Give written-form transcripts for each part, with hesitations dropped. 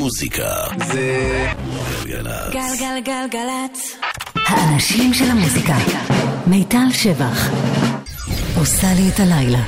המוזיקה זה גלגלצ. גלגלגלגלצ. האנשים של המוזיקה. מיטל שבח עושה לי את הלילה.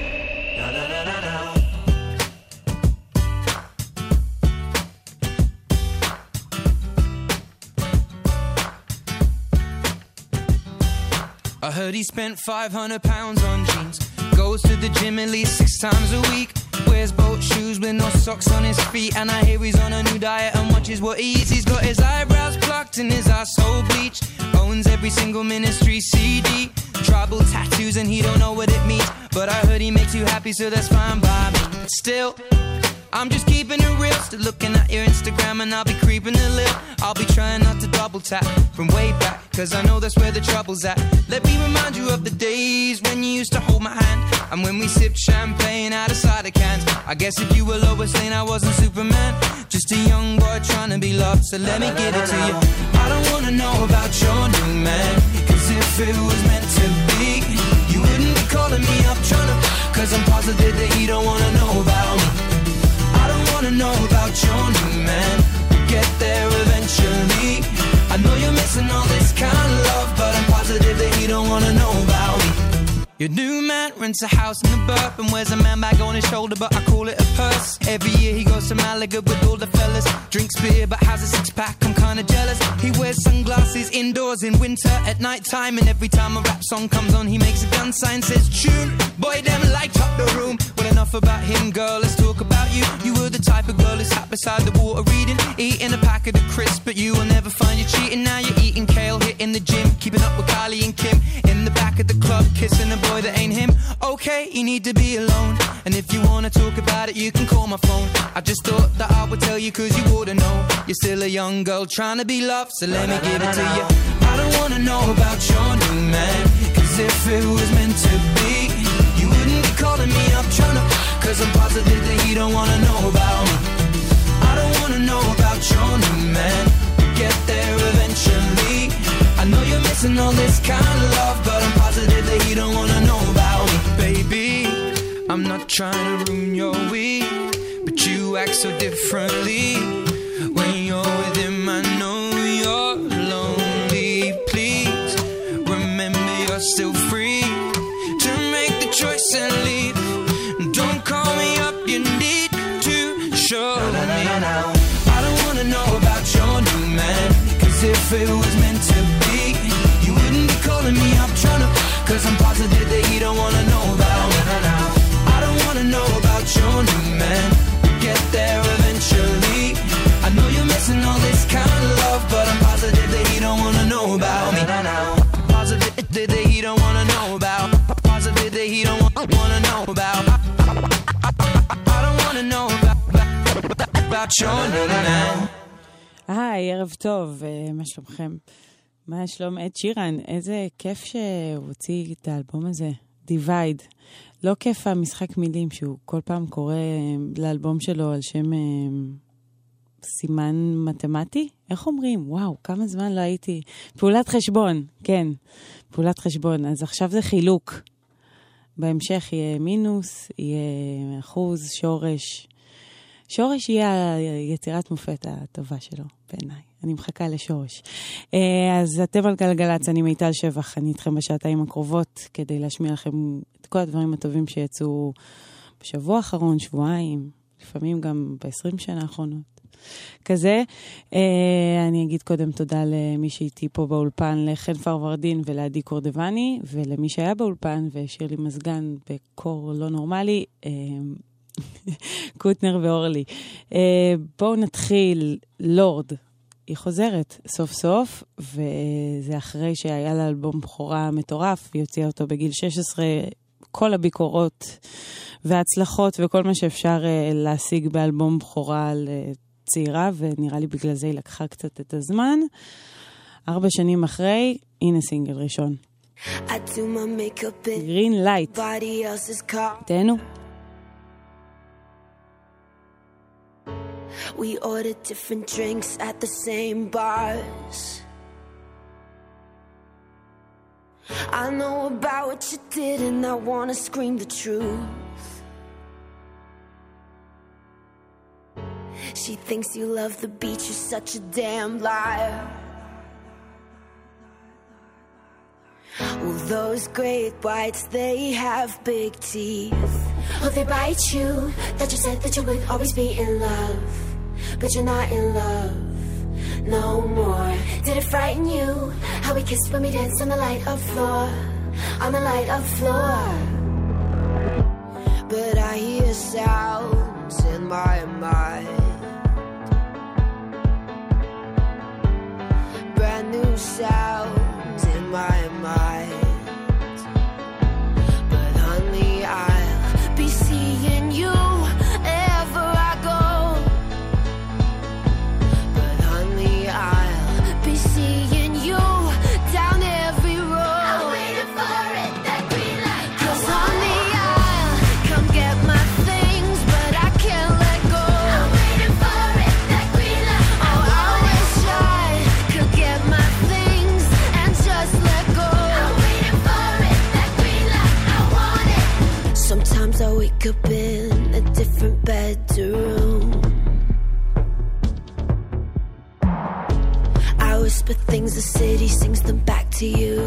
I heard he spent 500 pounds on jeans. Goes to the gym at least 6 times a week. Wears boat shoes with no socks on his feet. And I hear he's on a new diet and watches what he eats. He's got his eyebrows plucked and his asshole bleached. Owns every single Ministry CD. Tribal tattoos and he don't know what it means. But I heard he makes you happy, so that's fine by me. But still, I'm just keeping it real. Still looking at your Instagram and I'll be creeping a little. I'll be trying not to double tap from way back, cause I know that's where the trouble's at. Let me remind you of the days when you used to hold my hand, and when we sipped champagne out of cider cans. I guess if you were Lois Lane, I wasn't Superman. Just a young boy trying to be loved, so let me give it to you. I don't wanna know about your new man, cause if it was meant to be, you wouldn't be calling me up trying to, cause I'm positive that he don't wanna know about me. I don't wanna know about your new man. We'll get there eventually. I know you're missing all this kind of love, but I'm positive that he don't wanna know about me. Your new man rents a house in the burp and wears a man bag on his shoulder, but I call it a purse. Every year he goes to Malaga with all the fellas. Drinks beer but has a six-pack, I'm kinda jealous. He wears sunglasses indoors in winter at night time, and every time a rap song comes on he makes a gun sign, says tune. Boy, them light up the room. Well, enough about him, girl, let's talk about you. You were the type of girl who sat beside the water reading, eating a pack of the crisps, but you will never find you cheating. Now you're eating kale, hitting the gym, keeping up with Kylie and Kim, in the back of the club, kissing a boy that ain't him. Okay, you need to be alone, and if you wanna talk about it, you can call my phone. I just thought that I would tell you, cause you wouldn't know. You're still a young girl trying to be loved, so let me give it to you. I don't wanna know about your new man, cause if it was meant to be, you wouldn't be calling me up trying to, cause I'm positive that he don't wanna know about me. I don't wanna know about your new man. We'll get there eventually. I know you're missing all this kind of love, but I'm positive that he don't wanna know about me. Baby, I'm not trying to ruin your week, but you act so differently. When you're with him, I know you're lonely. Please remember you're still free to make the choice and leave. Don't call me up, you need to show me. I don't wanna know about your new man, cause if it was meant to be, you wouldn't be calling me up trying to, cause I'm positive that he don't wanna know about me. I don't wanna know about your new man. We'll get there eventually. I know you're missing all this kind of love, but I'm positive that he don't wanna know about me. Positive that he don't wanna know about. Positive that he don't wanna know about. I don't wanna know about your new man. היי, ערב טוב, מה שלומכם? מה שלום עד שירן? איזה כיף שהוא הוציא את האלבום הזה, דיווייד. לא כיף המשחק מילים שהוא כל פעם קורא לאלבום שלו על שם סימן מתמטי? איך אומרים? וואו, כמה זמן לא הייתי. פעולת חשבון, כן, פעולת חשבון. אז עכשיו זה חילוק. בהמשך יהיה מינוס, יהיה אחוז, שורש. שורש יהיה היצירת מופת הטובה שלו, בעיניי. אני מחכה לשורש. אז אתם על גלגלצ, אני מיטל שבח, אני איתכם בשעתיים הקרובות, כדי להשמיע לכם את כל הדברים הטובים שיצאו בשבוע האחרון, שבועיים, לפעמים גם ב-20 שנה האחרונות. כזה, אני אגיד קודם תודה למי שאיתי פה באולפן, לחן פרוורדין ולעדי קורדבני, ולמי שהיה באולפן והשאיר לי מזגן בקור לא נורמלי, קוטנר ואורלי. בואו נתחיל, לורד. היא חוזרת סוף סוף, וזה אחרי שהיה לה אלבום בחורה מטורף, היא הוציאה אותו בגיל 16, כל הביקורות וההצלחות וכל מה שאפשר להשיג באלבום בחורה לצעירה, ונראה לי בגלל זה היא לקחה קצת את הזמן. 4 שנים אחרי, הנה סינגל ראשון. גרין לייט. תהנו. We ordered different drinks at the same bars. I know about what you did and I wanna scream the truth. She thinks you love the beach, you're such a damn liar. Well, those great whites, they have big teeth. Oh, they bite you. That you said that you would always be in love, but you're not in love no more. Did it frighten you how we kissed when we danced on the light of floor, on the light of floor? But I hear sounds in my mind, brand new sounds in my mind. But honey, I'll be seeing you ever I go. But honey, I'll be seeing you down every road. I'm waiting for it, that green light. 'Cause honey, I'll come get my things, but I can't let go. I'm waiting for it, that green light. Oh, I wish I could get my things and just let go. I'm waiting for it, that green light. I want it. Sometimes I wake up in a different bedroom. I whisper things, the city sings them back to you.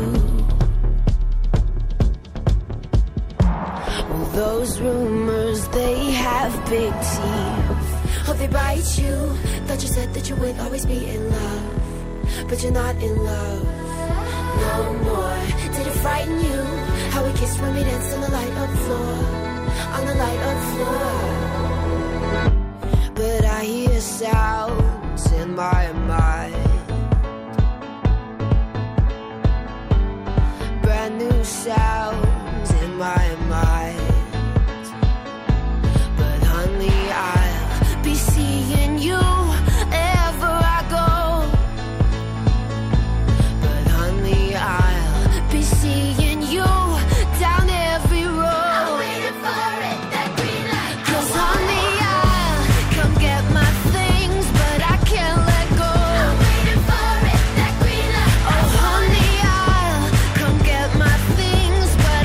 Well, those rumors, they have big teeth. Oh, they bite you. Thought you said that you would always be in love, but you're not in love no more. Did it frighten you how we kissed when we danced on the light of floor, on the light of floor? But I hear sounds in my mind, brand new sounds in my mind. But honey, I'll be seeing you ever I go. But honey, I'll be seeing you down every road. I'm waiting for it, that green light. 'Cause honey, I'll come get my things, but I can't let go. I'm waiting for it, that green light. Oh honey, I'll come get my things, but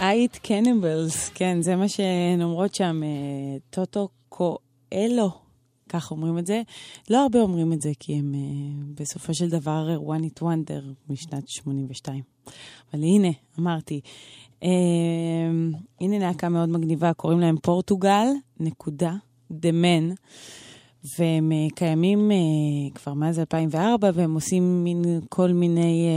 אייט קניבלס, כן, זה מה שהן אומרות שם, טוטו קואלו, כך אומרים את זה. לא הרבה אומרים את זה, כי הם בסופו של דבר One It Wonder משנת 82. אבל הנה, אמרתי, הנה להקה מאוד מגניבה, קוראים להם פורטוגל, The Men, והם קיימים כבר מאז 2004, והם עושים כל מיני...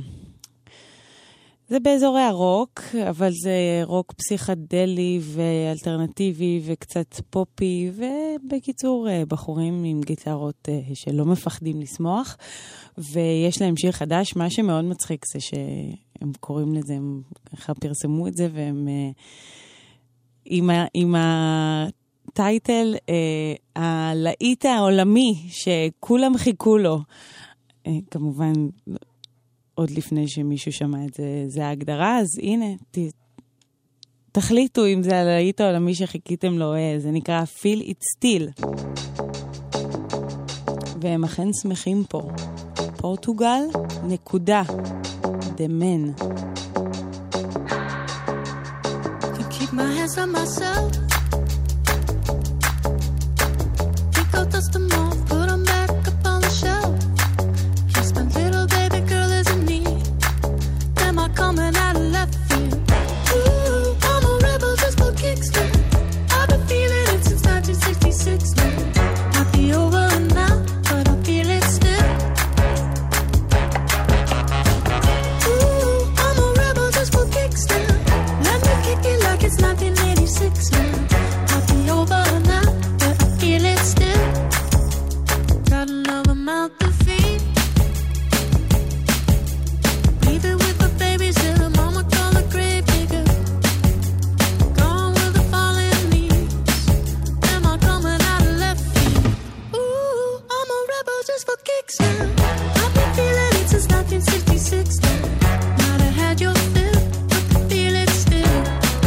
זה באזורי הרוק, אבל זה רוק פסיכדלי ואלטרנטיבי וקצת פופי, ובקיצור בחורים עם גיטרות שלא מפחדים לשמוח, ויש להם שיר חדש. מה שמאוד מצחיק זה שהם קוראים לזה, הם ככה פרסמו את זה, והם עם הטייטל הלהיט העולמי שכולם חיכו לו, כמובן עוד לפני שמישהו שמע את זה, זה ההגדרה, אז הנה, תחליטו אם זה הלהיט העולמי שחיכיתם לו, זה נקרא Feel It Still. והם אכן שמחים פה. פורטוגל, The Men. To keep my hands on myself, pick out dust them off, put them back up on the shelf. Coming out of left field. Ooh, I'm a rebel just for kicks now. I've been feeling it since 1966 now. Might be over now, but I feel it still. Ooh, I'm a rebel just for kicks now. Let me kick it like it's 1986 now. Might be over now, but I feel it still. Got another mouth to feed. Leave it with the babies till the mama call the grave digger. Gone with the fallen leaves. Am I coming out of left field? Ooh, I'm a rebel just for kicks now. I've been feeling it since 1966 now. Might have had your fill, but I feel it still.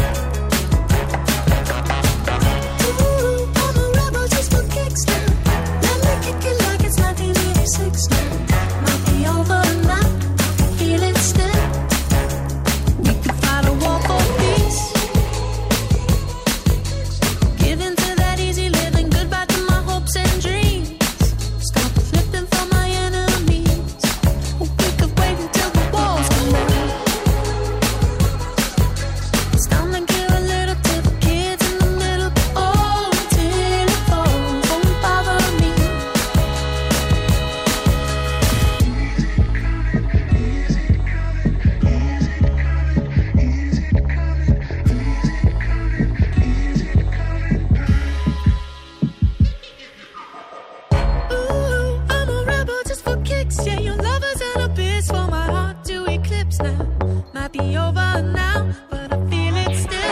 Ooh, I'm a rebel just for kicks now. Let me kick it like it's 1986 now. Might be over now. Feel it still. We could fight a war for peace. Give in to that easy living. Goodbye to my hopes and dreams. Stop flipping for my enemies. We could wait until the walls come down. It's time to give a little to the kids in the middle. Oh, until it falls, won't bother me. Ooh, I'm a rebel just for kicks. Yeah, your lovers and a bitch for my heart to eclipse now. Might be over now, but I feel it still.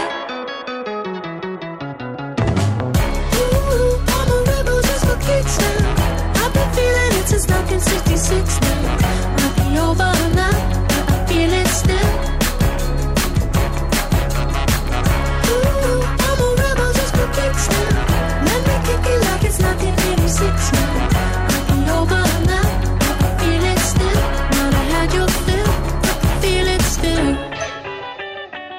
Ooh, I'm a rebel just for kicks now. I've been feeling it since 1966 now. Might be over now, but I feel it still. Ooh, I'm a rebel just for kicks now. Let me kick it like it's 1986 now. Might be over now, but I feel it still. Might have had your fill, but I feel it still.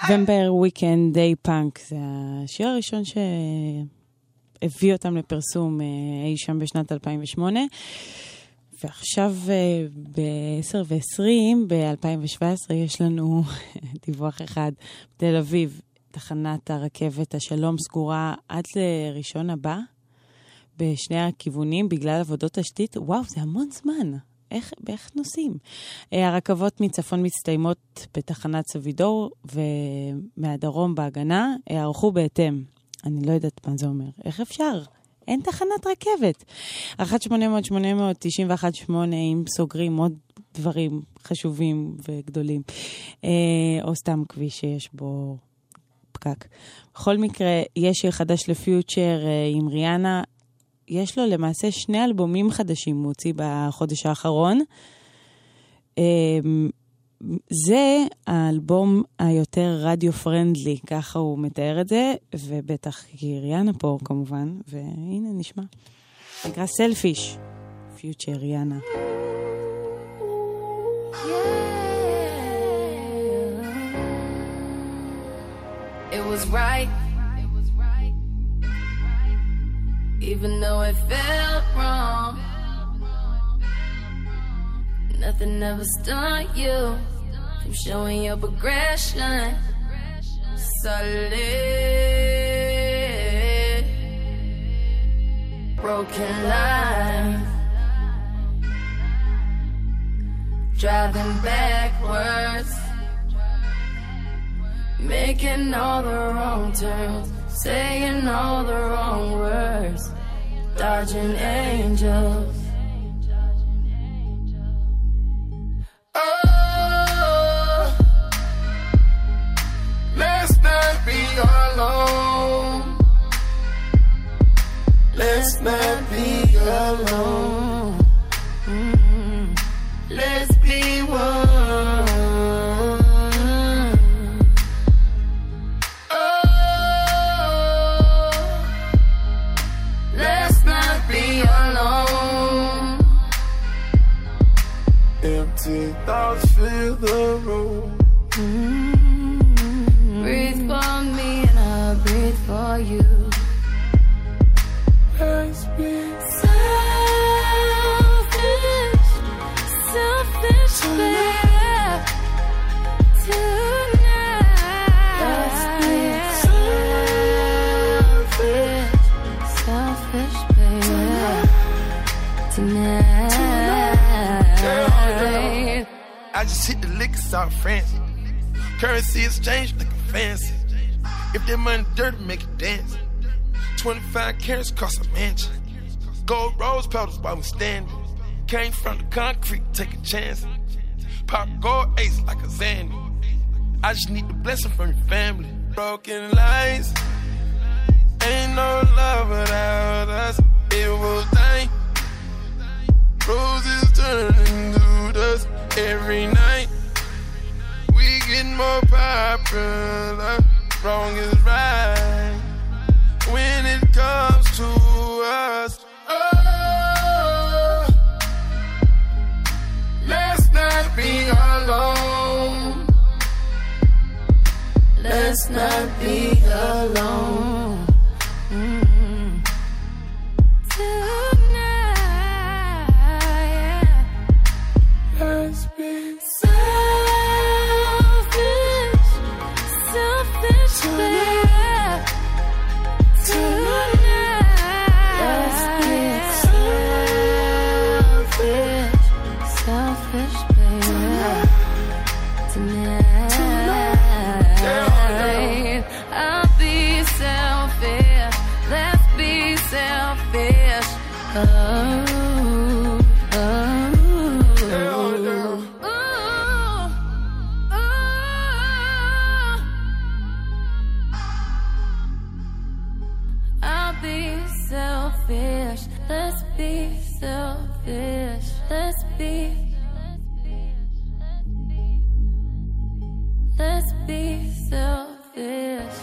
Vampire Weekend Day Punk, זה השיר הראשון שהביא אותם לפרסום אי שם בשנת 2008, ועכשיו ב-10:20 ב-2017 יש לנו דיווח אחד. בתל אביב, תחנת הרכבת השלום סגורה עד לראשון הבא, בשני הכיוונים בגלל עבודות תשתית. וואו, זה המון זמן. איך נוסעים? הרכבות מצפון מסתיימות בתחנת סבידור, ומהדרום בהגנה ערכו בהתאם. אני לא יודעת מה זה אומר. איך אפשר? אין תחנת רכבת. 1-800-891-8 אם סוגרים עוד דברים חשובים וגדולים. או סתם כביש שיש בו פקק. בכל מקרה, יש שיר חדש לפיוטשר עם ריאנה. יש לו למעשה 2 אלבומים חדשים הוא הוציא בחודש האחרון. זה האלבום היותר רדיו פרנדלי, ככה הוא מתאר את זה, ובטח כי ריאנה פה כמובן, והנה נשמע. נקרא סלפיש, פיוטשר ריאנה. It was right. Even though it felt wrong, nothing ever stopped you from showing your progression. Solid, broken line, driving backwards, making all the wrong turns, saying all the wrong words, dodging angels. Oh, let's not be alone. Let's not be alone. Let's be one. Thoughts fill the room. Breathe for me and I'll breathe for you. Let's be selfish, selfish, baby. Tonight. Let's be selfish, selfish, baby. Tonight. I just hit the liquor out France. Currency exchange looking fancy. If that money dirty, make it dance. 25 carats cost a mansion. Gold rose petals while we standing. Came from the concrete, take a chance. Pop gold ace like a Zandy. I just need the blessing from your family. Broken lights, ain't no love without us. It was night. Roses turning to dust every night. We get more popular. Wrong is right when it comes to us. Oh, let's not be alone. Let's not be alone. Let's be selfish, selfish, baby. Tonight. Let's be selfish, selfish, baby. Tonight. I'll be selfish. Let's be selfish. Let's be selfish. Let's be. Let's be selfish.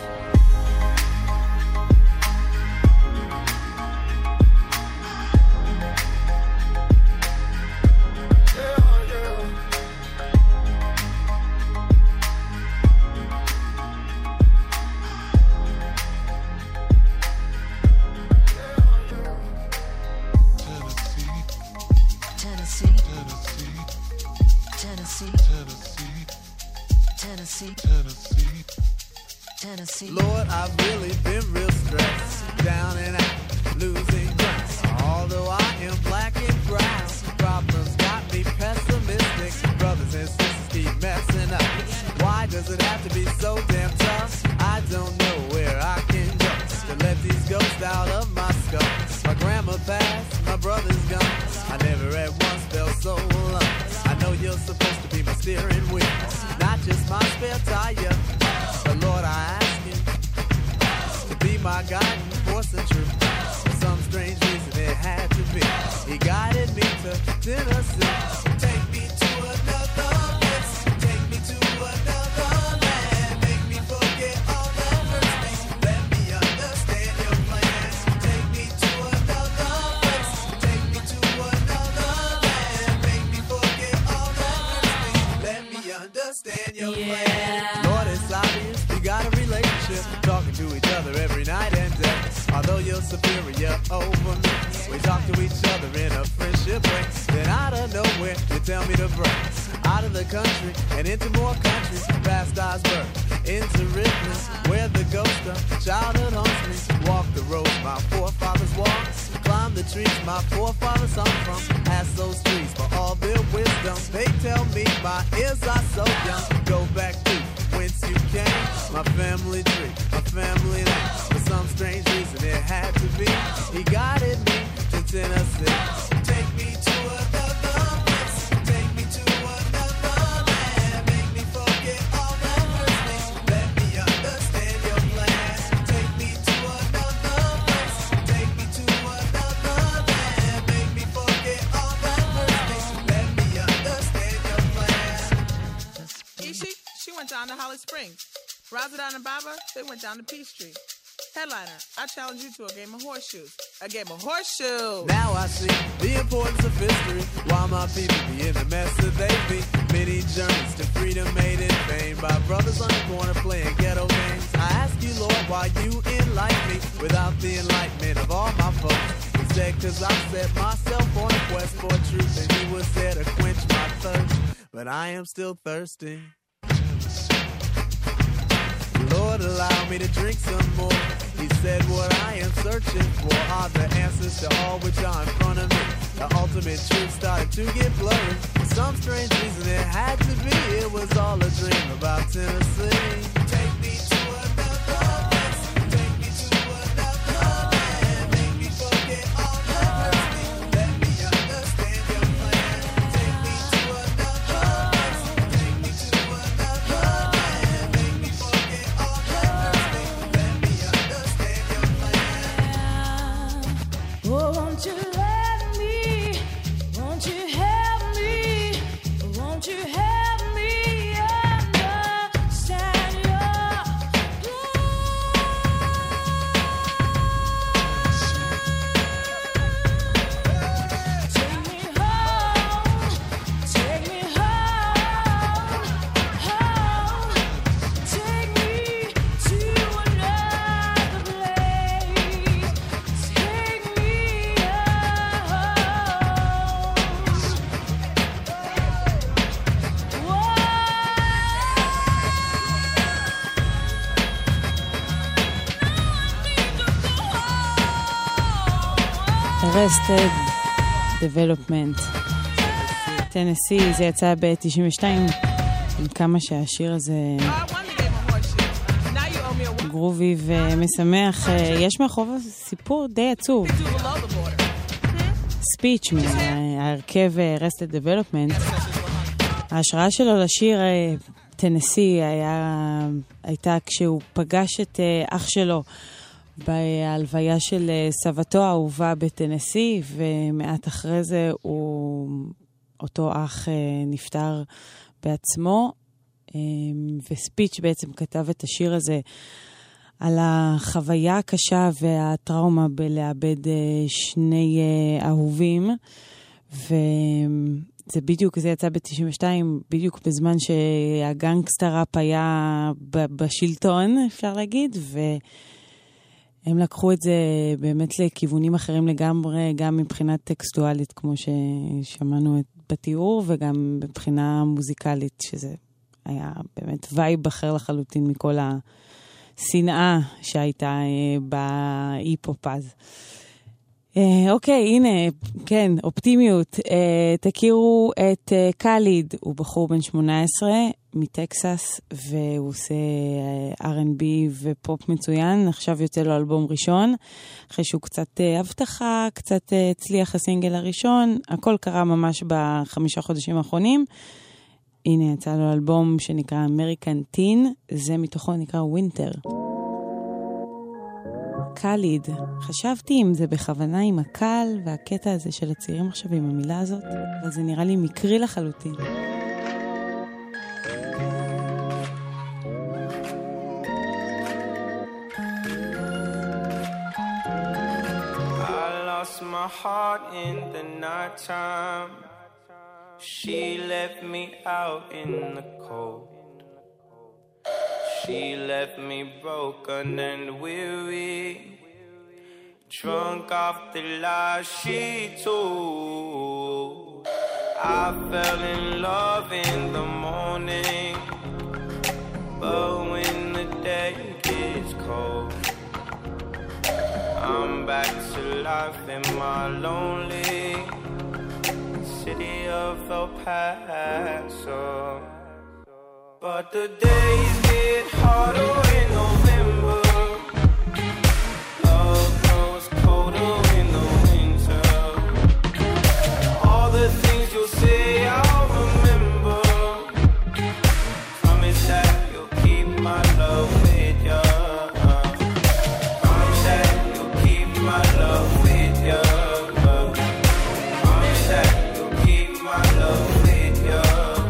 Tennessee, Tennessee, Tennessee. Lord, I've really been real stressed, down and out, losing ground. Although I am black and brown, problems got me pessimistic. Brothers and sisters keep messing up. Why does it have to be so damn tough? I don't know where I can go to let these ghosts out of my skull. My grandma passed, my brother's gone. I never at once felt so alone. I know you're supposed to be my steering wheel, not just my spare tire. But Lord, I ask you to be my guiding force and truth. For some strange reason it had to be. He guided me to Tennessee. Take me to another place. Take me to another land. Make me forget all the hurts me. Let me understand your plan. Take me to another place. Take me to another land. Make me forget all the hurts me. Let me understand your plan. Lord, it's obvious we got a relationship, talking to each other every night and day. Although you're superior over me, we talk to each other in a friendship way. Then out of nowhere, you tell me to break out of the country and into more countries, past Osborne, into Richmond, where the ghost of childhood haunts me. Walk the roads my forefathers walked, climb the trees my forefathers hung from. Ask those trees for all their wisdom. They tell me my ears are so young. Go back to whence you came, my family tree, my family name. For some strange reason it had to be. He guided me to Tennessee. Take me to another place. Take me to another land. Make me forget all that hurts me. Let me understand your plan. Take me to another place. Take me to another land. Make me forget all that hurts me. Let me understand your plan. Ishi, she went down to Holly Springs. Razadon and Baba, they went down to Peachtree. Headliner, I challenge you to a game of horseshoes. A game of horseshoes! Now I see the importance of history. Why my people be in the mess that they be. Many journeys to freedom made in vain by brothers on the corner playing ghetto games. I ask you, Lord, why you enlighten me without the enlightenment of all my folks. Instead, cause I set myself on a quest for truth, and he was there to quench my thirst. But I am still thirsty. Lord, allow me to drink some more. He said what I am searching for are the answers to all which are in front of me. The ultimate truth started to get blurry. For some strange reason it had to be. It was all a dream about Tennessee. Take me to another place. Take me to another land. Make me forget all that hurts me. Let me understand your plan. Take me to another place. Take me to another land. Make me forget all that hurts me. Let me understand your plan. Oh, won't you let me, won't you help me, won't you help me understand your Take me home, take me home, home. Take me to another place. Take me Arrested Development, טנסי, זה יצא ב-92, עם כמה שהשיר הזה גרובי ומשמח. יש מאחוריו סיפור די עצוב. ספיץ' מההרכב Arrested Development. ההשראה שלו לשיר טנסי הייתה כשהוא פגש את אח שלו בהלוויה של סבתו האהובה בטנסי, ומעט אחרי זה אותו אח נפטר בעצמו, וספיץ' בעצם כתב את השיר הזה על החוויה הקשה והטראומה בלאבד שני אהובים, וזה בדיוק, זה יצא ב-92, בדיוק בזמן שהגנגסטר ראפ היה בשלטון, אפשר להגיד, הם לקחו את זה באמת לכיוונים אחרים לגמרי, גם מבחינת טקסטואלית, כמו ששמענו בתיאור וגם מבחינה מוזיקלית, שזה היה באמת וייב אחר לחלוטין מכל השנאה שהייתה באי-פופ אז. אוקיי, הנה, כן, אופטימיות. תכירו את קאליד, הוא בחור בן 18 מטקסס, והוא עושה R&B ופופ מצוין. עכשיו יוצא לו אלבום ראשון, אחרי שהוא קצת הבטחה, קצת הצליח הסינגל הראשון. הכל קרה ממש ב5 חודשים האחרונים. הנה, יצא לו אלבום שנקרא American Teen, זה מתוכו נקרא Winter. קאליד, חשבתי אם זה בכוונה עם הקל והקטע הזה של הצעירים עכשיו עם המילה הזאת, אבל זה נראה לי מקרי לחלוטין. I lost my heart in the night time. She left me out in the cold. She left me broken and weary, drunk off the lies she told. I fell in love in the morning, but when the day gets cold, I'm back to life in my lonely city of El Paso. But the days get harder in November. Love grows colder in the winter. All the things you'll say I'll remember. Promise that you'll keep my love with ya. Promise that you'll keep my love with ya. Promise that you'll keep my love with ya.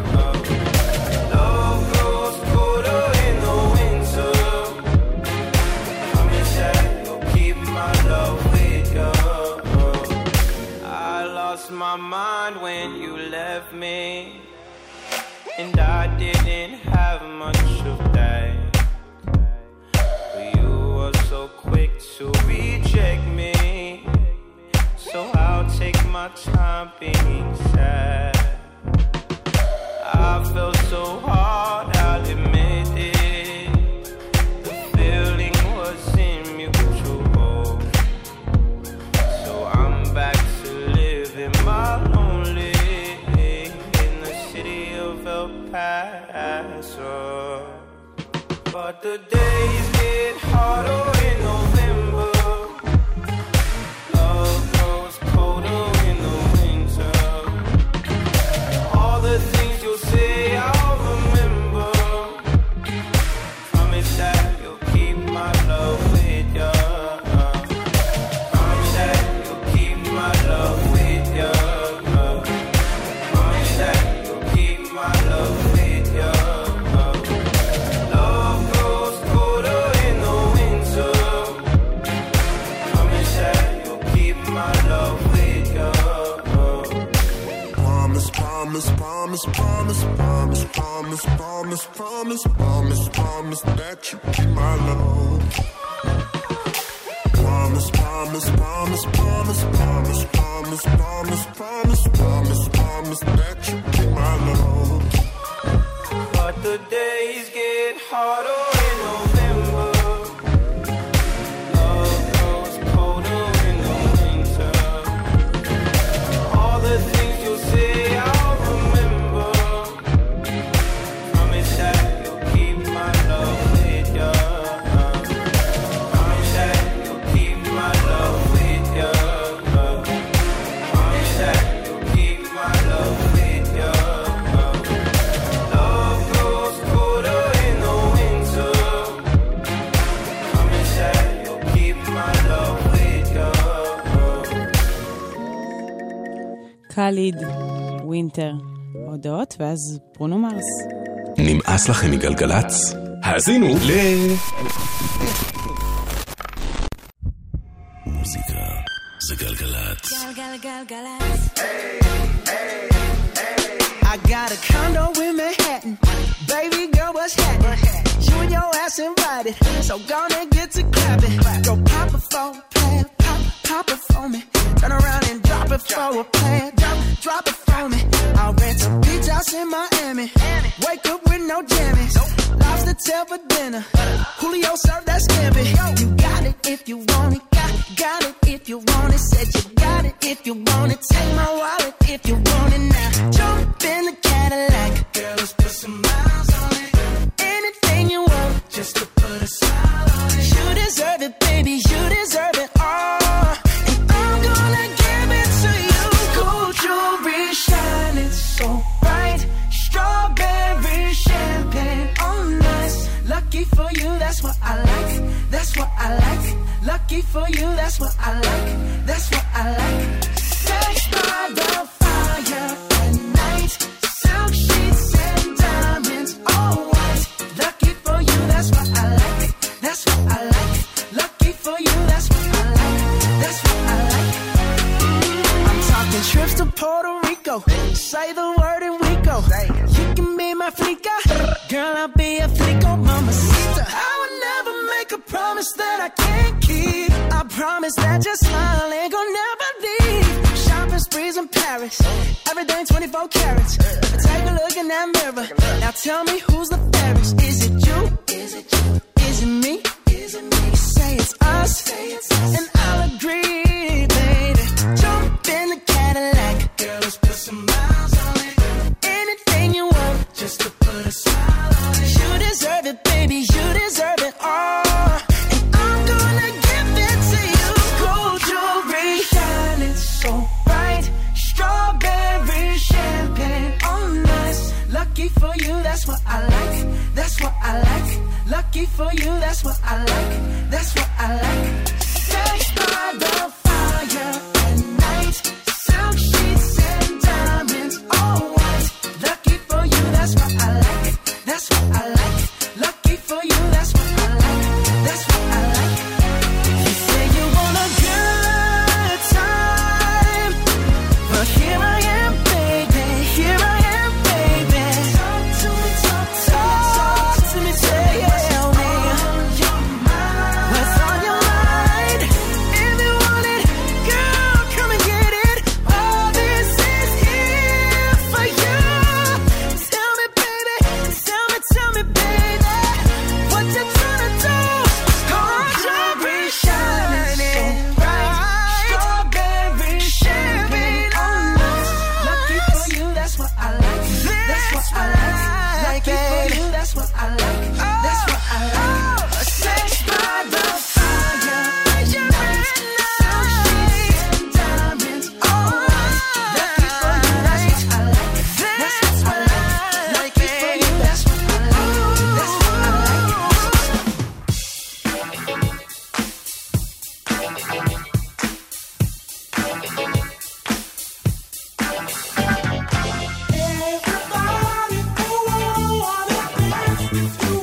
My mind when you left me, and I didn't have much of that, but you were so quick to reject me, so I'll take my time being sad. I felt so hard, I'll admit it, the feeling was mutual, so I'm back my lonely in the city of El Paso. But the days get harder in November. Love grows colder in the winter. All the things you'll say I'll remember. Promise that you'll keep my love with ya. Promise that you'll keep my love with ya. Promise that you'll keep my love with ya. Love grows colder in the winter. Promise that you'll keep my love with ya. Promise, promise, promise, promise, promise, promise, promise, promise, promise, promise that you keep my love. Promise, promise, promise, promise, promise, promise, promise, promise, promise, promise that you keep my love. But the days get harder in November. Love grows colder in the winter. All the things you'll say I'll remember. Promise that you'll keep my love with ya. Promise that you'll keep my love with ya. Promise that you'll keep my love with ya. Love grows colder in the winter. Promise that you'll keep my love with ya. קאליד, ווינטר, הודעות, ואז ברונו מרס. נמאס לכם מגלגלץ? האזינו מוזיקה זה גלגלץ. גלגלגלגלצ. I got a condo in Manhattan. Baby girl, what's happening? You and your ass invited, so gonna get to clapping. Go pop a phone, pop pop it for me. Turn around and drop it for a plan. Drop it for me. I'll rent a beach house in Miami. Wake up with no jammies. Lobster tail for dinner. Julio served that scampi. You got it if you want it. Got it if you want it. Said you got it if you want it. Take my wallet if you want it now. Jump in the Cadillac. Girl, let's put some miles on it. Anything you want, just to put a smile on it. You deserve it, baby. You deserve it all. And I'm gonna give it to you. Gold jewelry shining so bright. Strawberry champagne on us. Lucky for you, that's what I like. That's what I like. Lucky for you, that's what I like. That's what I like. Sex by the fire at night. Silk sheets and diamonds, all white. Lucky for you, that's what I like. That's what I like. Lucky for you, that's what I like. That's what I like. I'm talking trips to Puerto Rico. Say the word and we go. You can be my flica. Girl, I'll be a flico, mamacita. I would never make a promise that I can't keep. I promise that your smile ain't gonna never leave. Shopping sprees in Paris. Everything 24 carats. Take a look in that mirror. Now tell me who's the fairest. Is it you? Is it you? Is it me? Is it me? Say it's us. Say it's us. And I'll agree, baby. Jump in the Cadillac. Girl, let's put some miles on it. Anything you want, just to put a smile on it. You deserve it, baby. You deserve it all. And I'm gonna give it to you. Gold jewelry shining so bright. Strawberry champagne on us. Lucky for you, that's what I like. That's what I like. Lucky for you, that's what I like. That's what I like. Sex by the fire at night. Silk sheets and diamonds, all white. Lucky for you, that's what I like. That's what I like. Lucky for you, that's what I like. That's what I like. You say you want a good time, but here I am, baby. Here I am, baby. Talk to me, talk to me, tell me what's on your mind. If you want it, girl, come and get it. All this is here for you. Tell me, baby, tell me, baby, what you tryna do? Gold jewelry shining bright. Strawberry champagne on us. Lucky for you, that's what I like. That's what I like. Lucky for you, that's what I like. That's what I like. Sex by the fire at night. Silk sheets and diamonds on us. Lucky for you, that's what I like. That's what I like. Lucky for you, that's what I like. That's what I Everybody, oh, I wanna dance with you.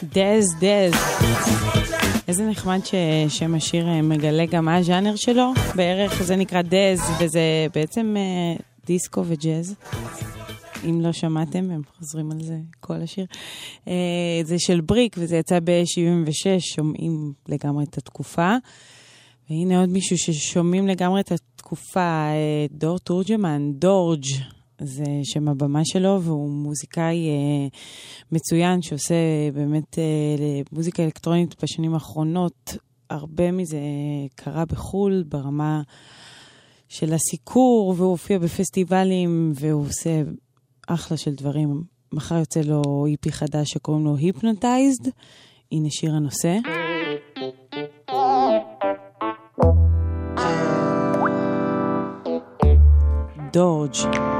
דז. איזה נחמד ששם השיר מגלה גם מה הז'אנר שלו. בערך זה נקרא דז, וזה בעצם דיסקו וג'אז. אם לא שמעתם, הם חוזרים על זה כל השיר. זה של בריק, וזה יצא ב-76, שומעים לגמרי את התקופה. והנה עוד מישהו ששומעים לגמרי את התקופה, דור תורג'מן, דורג'. זה שם הבמה שלו, והוא מוזיקאי מצוין, שעושה באמת מוזיקה אלקטרונית בשנים האחרונות. הרבה מזה קרה בחול, ברמה של הסיקור, והוא הופיע בפסטיבלים, והוא עושה אחלה של דברים. מחר יוצא לו איפי חדש שקוראים לו היפנוטייזד. הנה שיר הנושא. דורג'.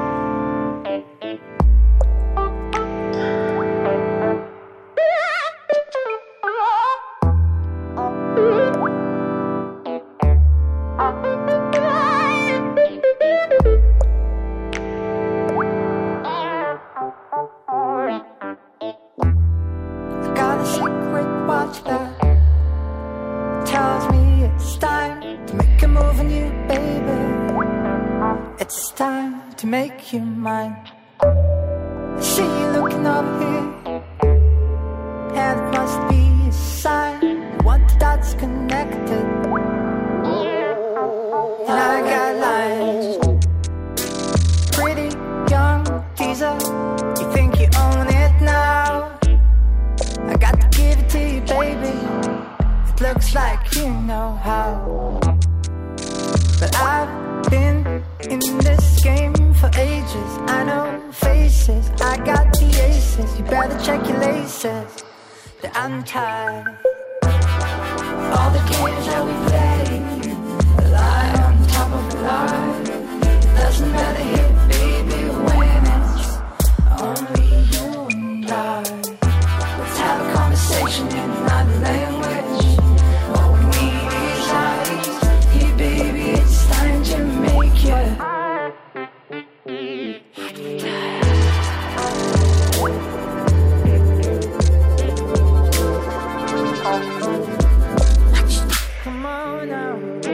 Make you mine. I see you looking over here, and it must be a sign. One that's connected, and I got lines. Pretty young teaser, you think you own it now? I got to give it to you, baby. It looks like you know how, but I've been in this game for ages. I know faces, I got the aces. You better check your laces, they're untied. All the games that we play, a lie on top of a lie. Doesn't matter here, baby, when it's only you and I. Let's have a conversation in another language. All we need is eyes. Hey baby, it's time to make you come on now.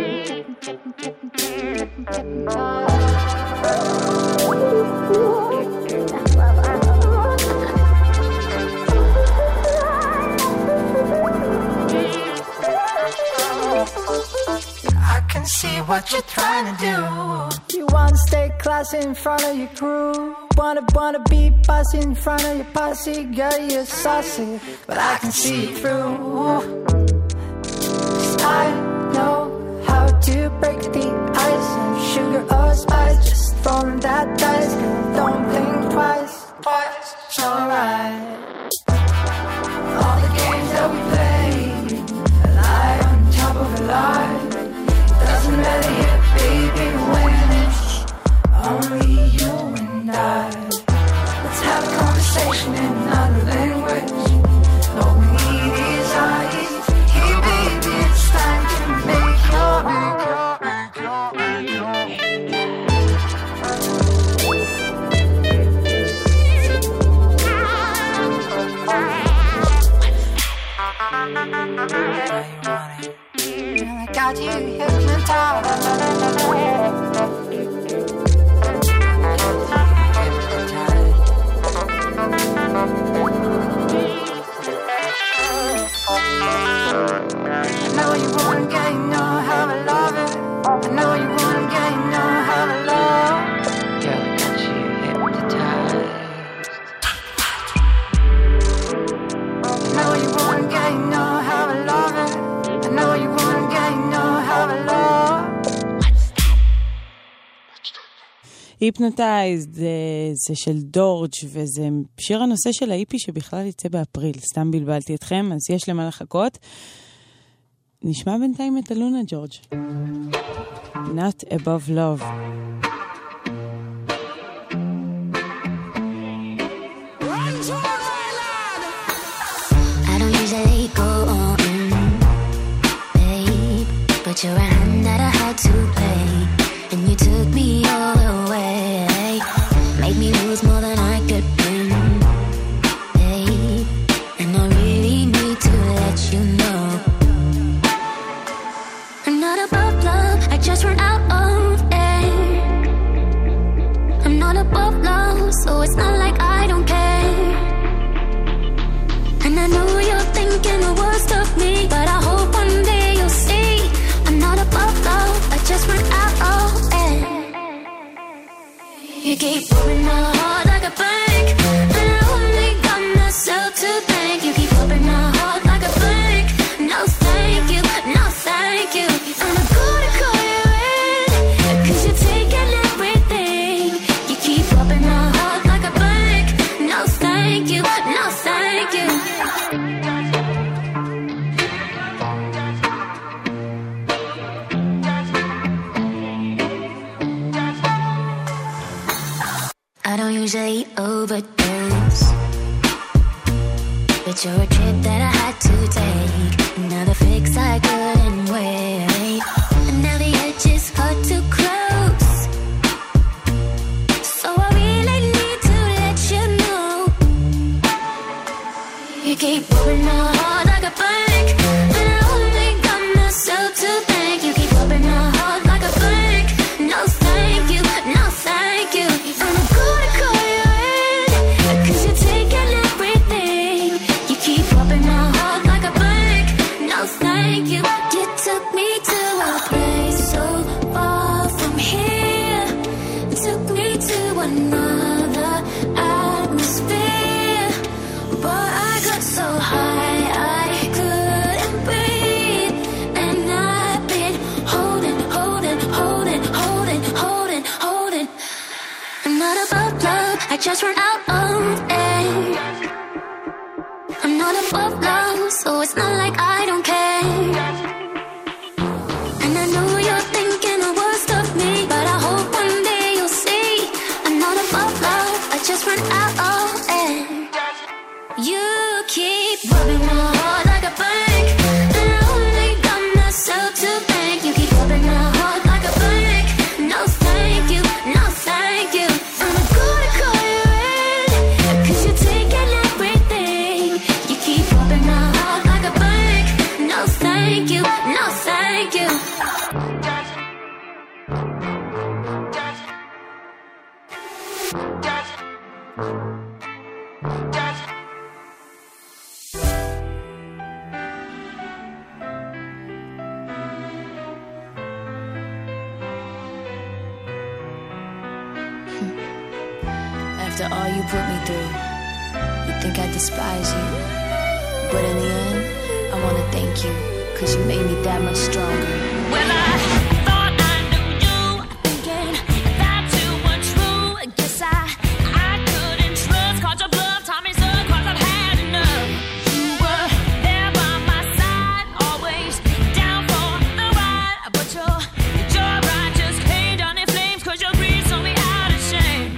I can see what you're trying to do. You wanna stay classy in front of your crew. Wanna be bossy in front of your posse. Girl, you're saucy, but I can see it through. I know how to break the ice. And sugar or spice, just throwing that dice. Girl, don't think twice, it's alright. All the games that we play, a lie on top of a lie. Doesn't matter here, baby, when it's only you and I. Let's have a conversation in another language. All we need is eyes. Hey baby, it's time to make your I got you hypnotized. I know you wanna get, you know how I love it. I know you wanna get, you know how I love. Girl, I got you hypnotized. I know you wanna get, you know how I love it. I know you wanna get, you know how I love. היפנוטייזד זה של דורג' וזה שיר הנושא של האיפי שבכלל יצא באפריל. סתם בלבלתי אתכם, אז יש למה לחכות. נשמע בינתיים את אלונה ג'ורג'. Not Above Love. I don't usually go on, babe, but you're a hand that I had to play, and you took me all away, made me lose more than I could win, babe, and I really You keep rubbing my heart like a bank, and I only got myself to thank. You keep rubbing my heart like a bank. No thank you, no thank you. I'm gonna call you in, 'cause you're taking everything. You keep rubbing my heart like a bank. No thank you, no thank you. I don't usually overdose, but you're a trip that I had to take. Another fix I couldn't wait, and now the edge is hard to close. So I really need to let you know. You keep rubbing my heart like a bank, and I only got myself to thank. You keep rubbing my heart like a bank. No thank you, no thank you. I'm gonna call you in, 'cause you're taking everything. You keep rubbing my heart like a bank. No thank you. You took me to a place so far from here. Took me to another atmosphere, but I got so high I couldn't breathe. And I've been holding. I'm not above love, I just run out of air. I'm not above love, so it's not like I don't care. And I know you're thinking the worst of me, but I hope one day you'll see I'm not above love, I just run out of air. You keep rubbing my heart like a bank, and I only got myself to thank. You keep rubbing my heart like a bank. No thank you, no thank you. I'm gonna call you in, 'cause you're taking everything. You keep rubbing my heart like a bank. No thank you, no thank you. After all you put me through, you think I despise you. But in the end, I wanna thank you, 'cause you made me that much stronger. Well, I thought I knew you, thinking that you were true. I guess I couldn't trust, caught your bluff, taught me so, 'cause I've had enough. You were there by my side, always down for the ride. But your ride just came down in flames, 'cause your greed saw me out of shame.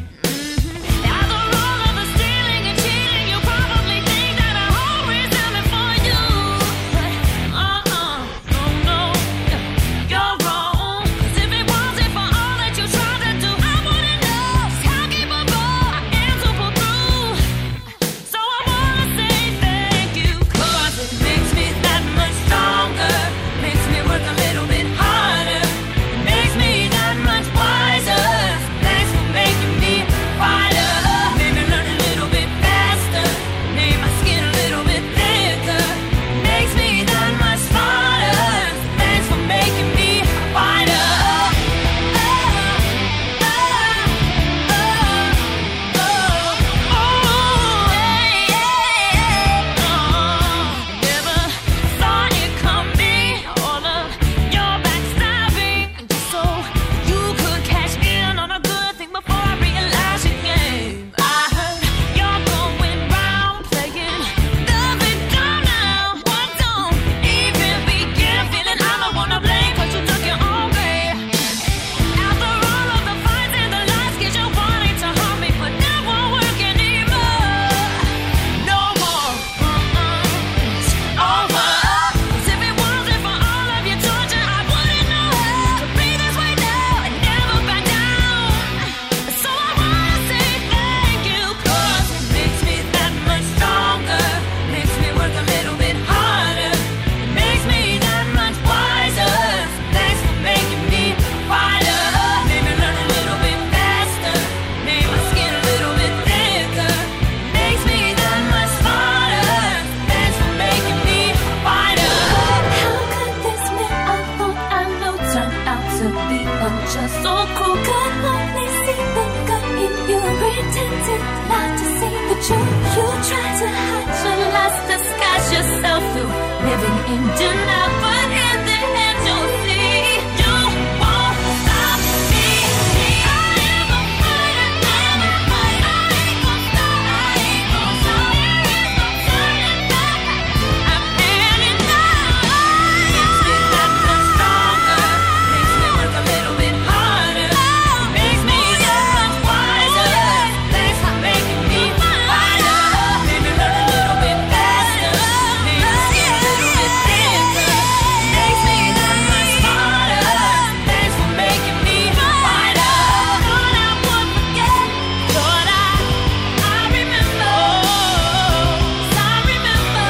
pretended not to see the truth. You try to hide your lost, disguise yourself through living in denial, but in the end you'll see you won't stop me. I am a fighter, I'm a fighter. I ain't gon' stop, I ain't gon' stop. There is no turning back. I'm heading out. Makes me that much stronger. Makes me work a little bit harder. Makes me that much wiser. Thanks for making me wider. Made me learn a little bit faster. Made me see a little bit thicker. Makes me that much smarter. Thanks for making me wider. Thought I would forget. Thought I remember. I remember.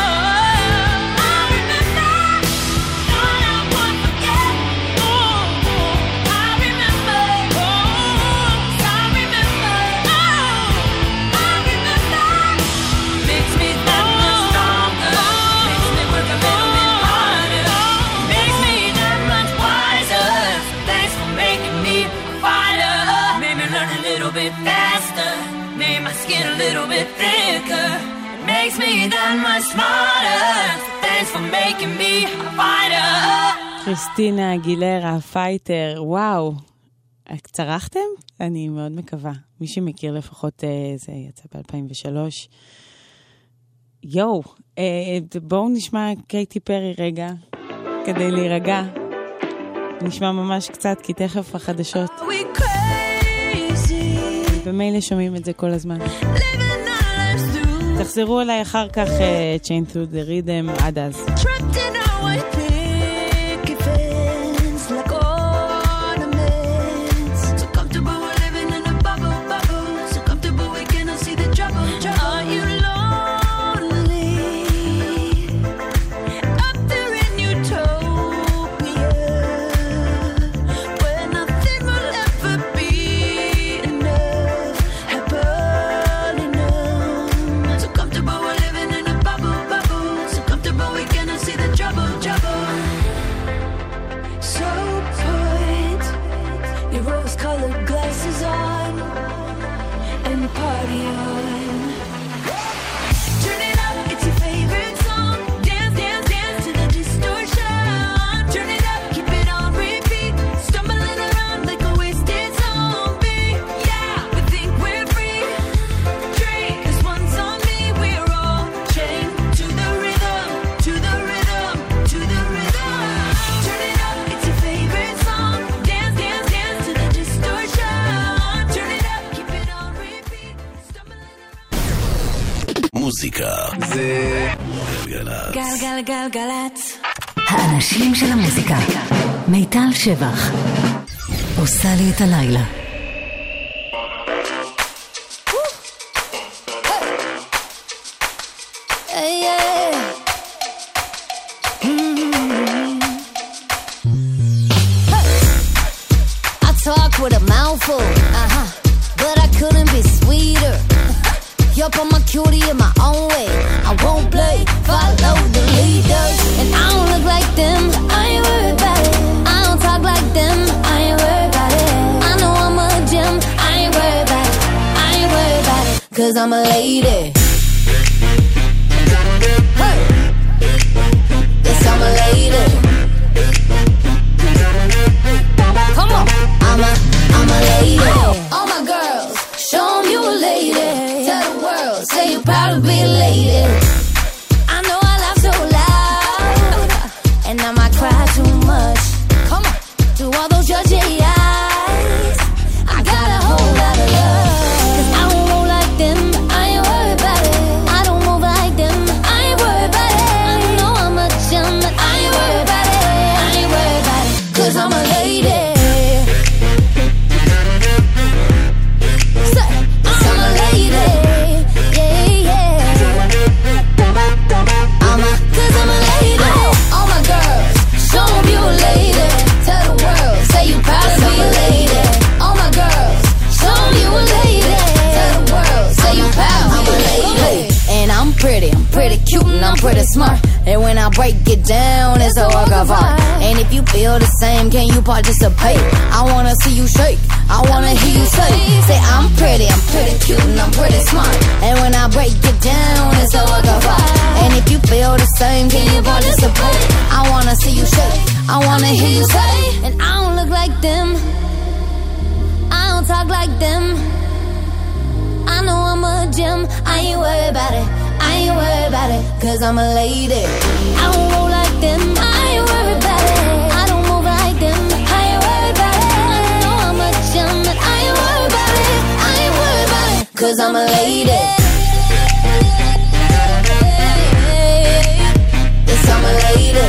I remember. Thought I would forget. I remember. I remember. I remember. Makes me that much stronger. Makes me work a little bit harder. Makes me that much wiser. Thanks for making me a fighter. Made me learn a little bit faster. Made my skin a little bit thicker. Makes me that much smarter. Thanks for making me a fighter. קריסטינה אגילרה, פייטר, וואו. צרחתם? אני מאוד מקווה. מי שמכיר לפחות, זה יצא ב-2003. יואו, בואו נשמע קייטי פרי רגע, כדי להירגע. נשמע ממש קצת, כי תכף החדשות. במילא שומעים את זה כל הזמן. תחזרו אליי אחר כך, Chain Through the Rhythm, עד אז. Trapped in our white picket fence, like ornaments. So comfortable we're living in a bubble, bubble. So comfortable we cannot see the trouble, trouble. Are you lonely? Up there in utopia, where nothing will ever be enough, happily numb. So comfortable we're living in a bubble, bubble. So comfortable we cannot see the trouble, trouble. So put your rose-colored glasses on and party on. Turn it up, it's your favorite song. Dance, dance, dance to the distortion. Turn it up, keep it on repeat. Stumbling around like a wasted zombie. Yeah, we think we're free. Drink this one's on me. We're all chained to the rhythm, to the rhythm, to the rhythm. Turn it up, it's your favorite song. Dance, dance, dance to the distortion. Turn it up, keep it on repeat. מוזיקה זה גלגלצ. גלגלגלגלצ. האנשים של המוזיקה. מיטל שבח. עושה לי את הלילה. Hey, yeah. I talk with a mouthful, but I couldn't be sweeter. Yup, I'm a cutie in my own way. I won't play, follow the leaders. And I don't look like them, I ain't worried about it. I don't talk like them, I ain't worried about it. I know I'm a gem, I ain't worried about it. I ain't worried about it, 'cause I'm a lady. Hey. Yes, I'm a lady. Come on, I'm a lady. All my girls, show 'em you a lady. Tell the world, say you're proud to be a lady. I know I laugh so loud, and I might cry too much. Come on, to all those judgy eyes, I got a whole lot of love. 'Cause I don't roll like them, I ain't worried about it. I don't move like them, I ain't worried about it. I know I'm a gem, but I ain't worried about it. I ain't worried about it, 'cause I'm a lady. Say, I'm a lady. Yeah, yeah. 'Cause I'm a lady. All my girls, show 'em you a lady. Tell the world, say you proud to be a lady. All my girls, show 'em you a lady. Tell the world, say you proud to be a lady. And I'm pretty cute and I'm pretty smart. And when I break it down, it's a work of art. And if you feel the same, can you participate? I wanna see you shake, I wanna hear you say I'm pretty. pretty cute and I'm pretty smart. And when I break it down, it's a work of art. And if you feel the same, can you participate? I wanna see you shake, I wanna hear you say. And I don't look like them, I don't talk like them. I know I'm a gem, I ain't worried about it, I ain't worried about it, cause I'm a lady. I don't roll like them, I ain't worried about it. I don't move like them, I ain't worried about it. I know I'm a gem, and I ain't worried about it, I ain't worried about it, cause I'm a lady. Yes, I'm a lady.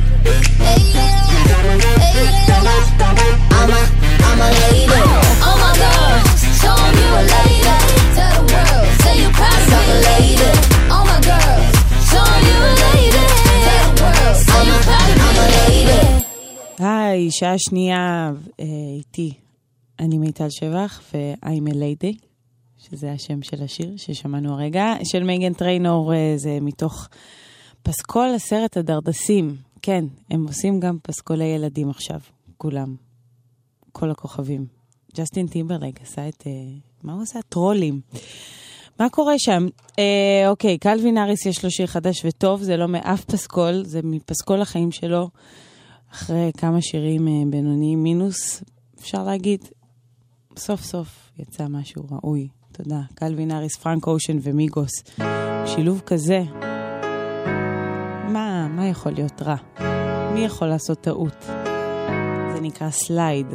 I'm a lady. Oh my God, show 'em you a lady. Tell the world, say you proud of me. I'm a lady. Oh my God, show 'em you a lady. Tell the world, say you proud of me. I'm a lady. היי, שעה שנייה איתי. אני מיטל שבח ו-I'm a lady, שזה השם של השיר ששמענו הרגע, של מייגן טריינור. זה מתוך פסקול הסרט הדרדסים. כן, הם עושים גם פסקולי ילדים עכשיו, כולם. כל הכוכבים. ג'סטין טימברלייק עשה את... מה הוא עשה? טרולים. מה קורה שם? אוקיי, קלווין האריס יש לו שיר חדש וטוב, זה לא מאף פסקול, זה מפסקול החיים שלו, אחרי כמה שירים בינוניים מינוס, אפשר להגיד, סוף סוף יצא משהו ראוי. תודה. קלווין האריס, פרנק אושן ומיגוס. שילוב כזה. מה יכול להיות רע? מי יכול לעשות טעות? זה נקרא סלייד.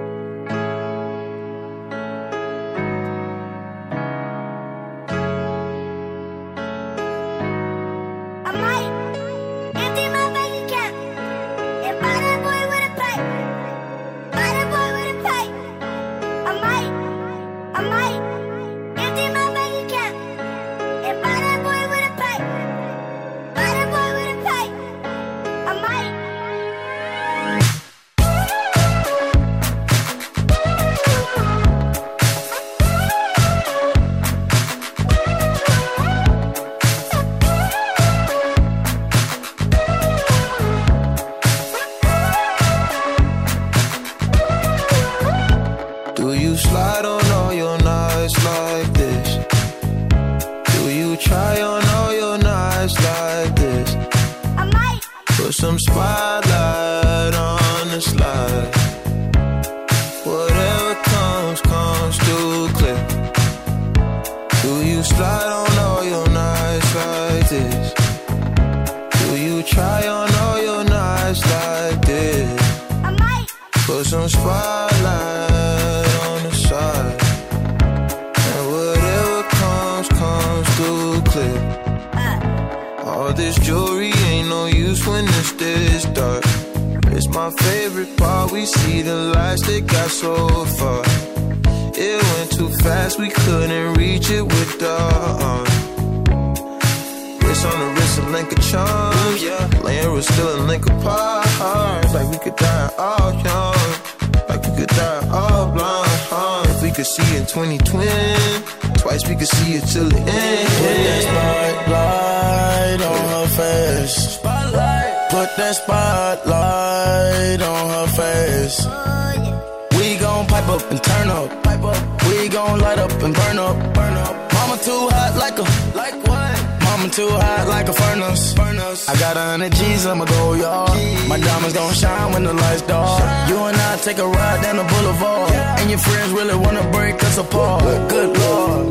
Take a ride down the boulevard, and your friends really wanna break us apart. Good Lord.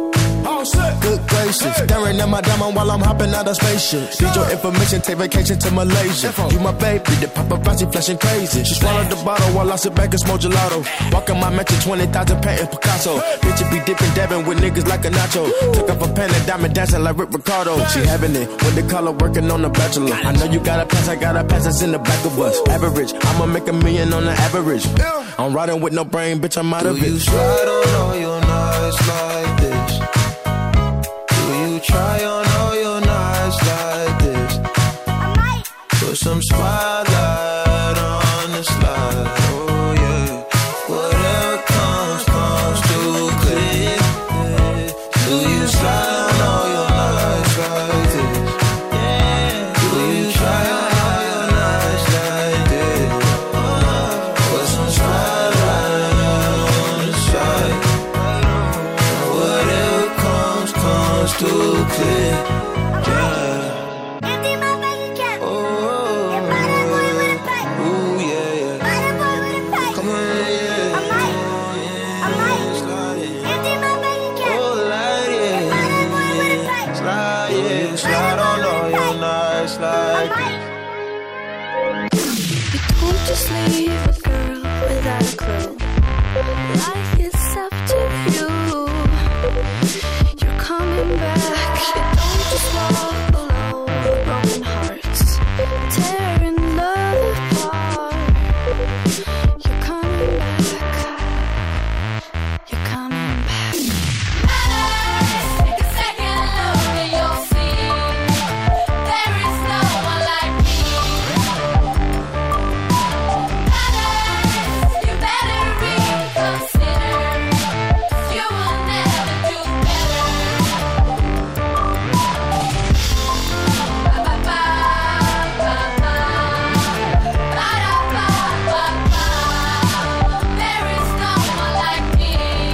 Good gracious, staring at my diamond while I'm hopping out of spaceship. Need your information, take vacation to Malaysia. You my baby, the paparazzi flashing crazy. She swallowed the bottle while I sit back and smoke gelato. Walking my mansion, 20,000 painting Picasso. Bitch, it be dipping, dabbing with niggas like a nacho. Took up a pen and diamond dancing like Rick Ricardo. She having it when they call her working on the Bachelor. I know you got a pass, I got a pass that's in the back of us. Average, I'ma make $1 million on the average. I'm riding with no brain, bitch, I'm out of it. Do you slide on all your nights like this? Try on all your nights like this. Put some spotlight on the slide. Oh yeah. Whatever comes, comes too clear. Do you slide on all your nights like this? Do you try on all your nights like this? Put some spotlight on the slide. true. Like it's up to you. You're coming back. You don't just walk alone with broken hearts, tearing love apart. You're coming back. You're coming back. Take a second look and you'll see there is no one like me. You better reconsider. You will never do better. There is no one like me.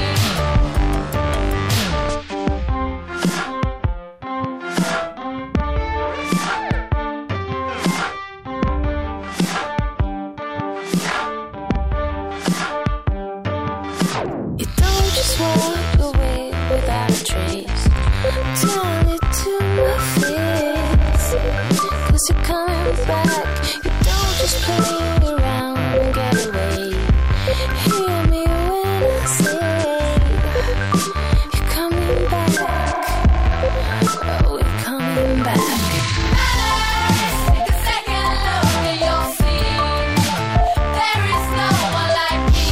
You don't just walk away without a trace. Tell it to my face. 'Cause you're coming back. You don't just play around and get away. Hear me when I say you're coming back. Oh, you're coming back. Take a second look and you'll see there is no one like me.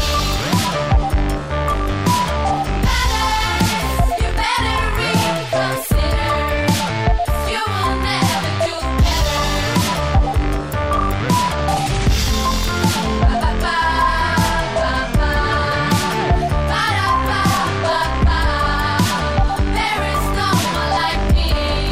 You better reconsider. You will never do better. There is no one like me.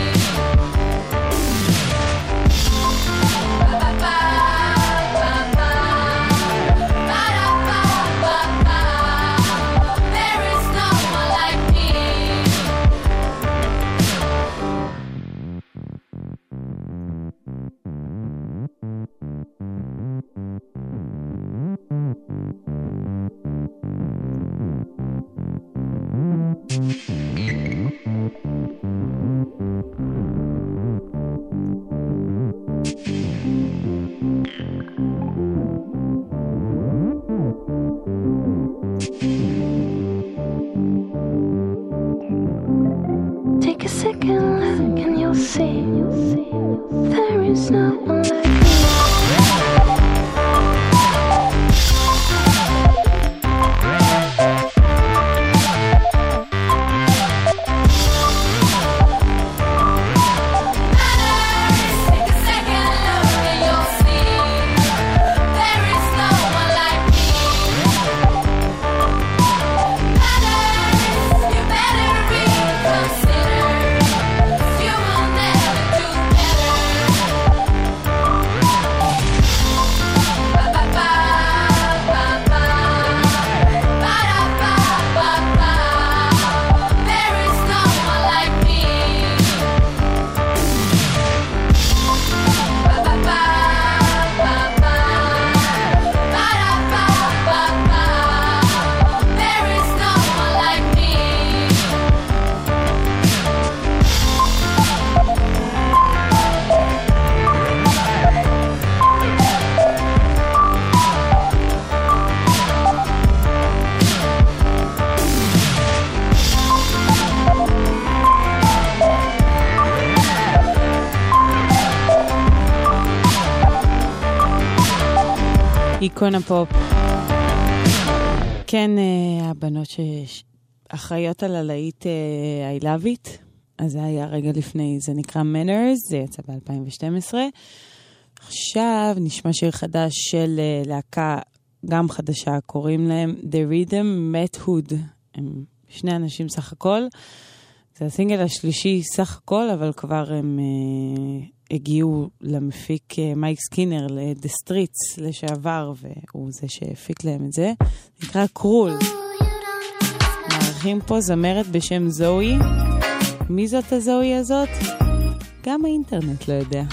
There is no one like me. Take a second look and you'll see there is no one like me. Take a second look and you'll see there is no one like me. You better reconsider. You will never do better. There is no one like me. There is no one like me. איקונה פופ. כן, הבנות שאחראיות על הלהיט I Love It, אז זה היה רגע לפני, זה נקרא Manners, זה יצא ב-2012. עכשיו נשמע שיר חדש של להקה גם חדשה, קוראים להם The Rhythm Method. הם שני אנשים סך הכל. זה הסינגל השלישי סך הכל, אבל כבר הם הגיעו למפיק מייק סקינר, ל-The Streets לשעבר, והוא זה שהפיק להם את זה. נקרא קרול. מערכים פה זמרת בשם זוהי. מי זאת הזוהי הזאת? גם האינטרנט לא יודע.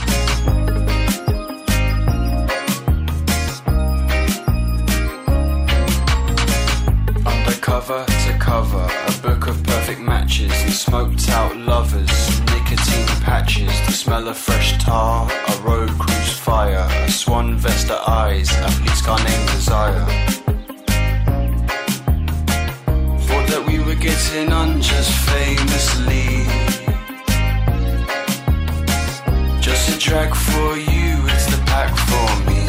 Cover to cover, a book of perfect matches and smoked out lovers, nicotine patches, the smell of fresh tar, a road cruise fire, a swan vesta eyes, a police car named Desire. acting on just famously. Just a drag for you, it's the pack for me.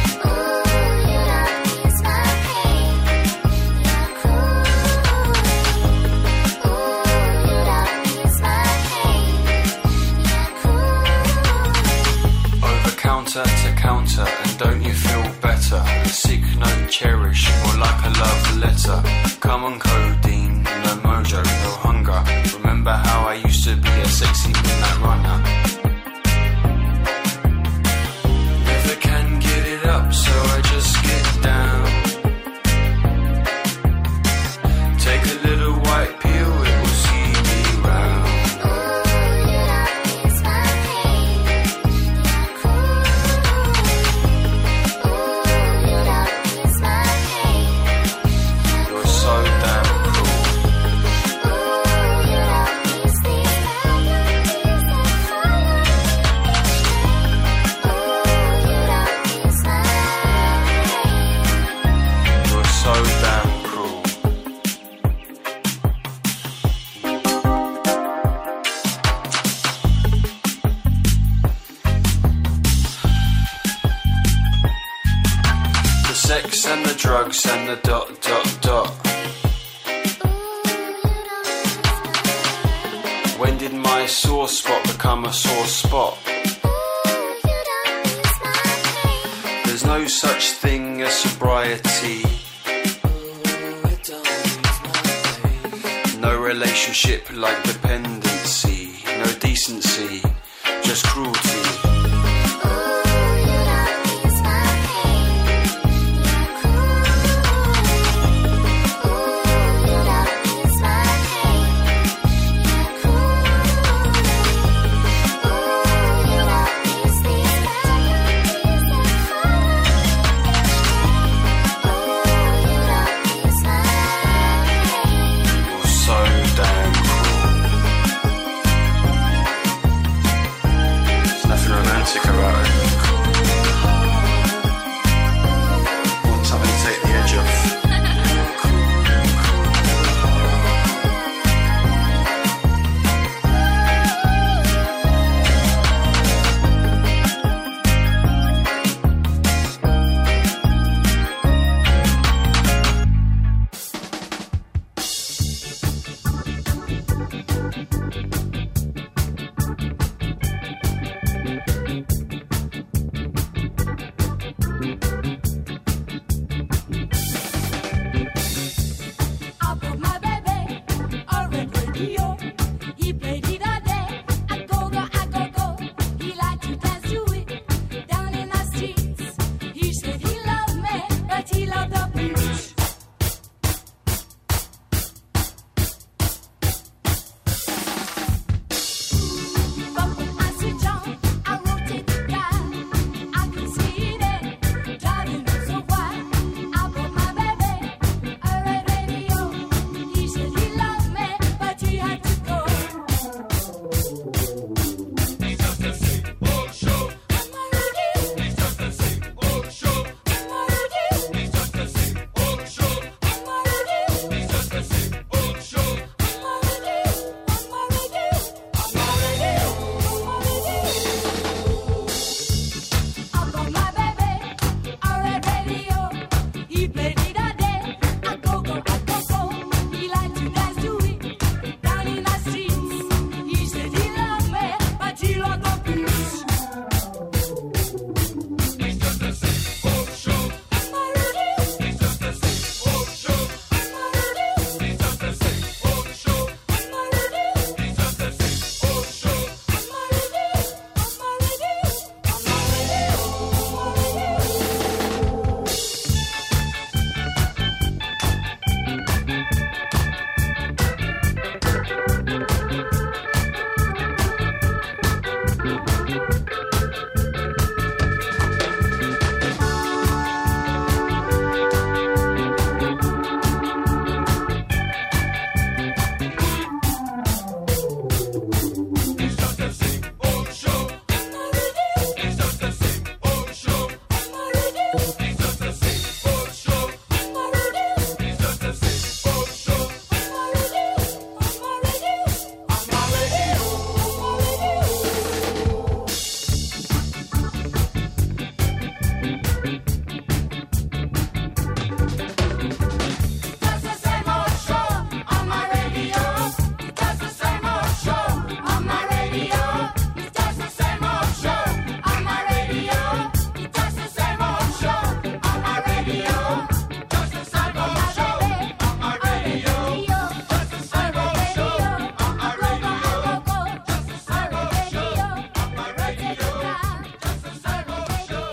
Counter to counter, and don't you feel better? A sick note cherish, or like a love letter. Come on codeine, no mojo, no hunger. Remember how I used to be a sexy midnight runner? Never can get it up, so I just get down. Take a little white pill, it will see me round. Sex and the drugs and the ... When did my sore spot become a sore spot? There's no such thing as sobriety. No relationship like dependency. No decency, just cruelty. Nothing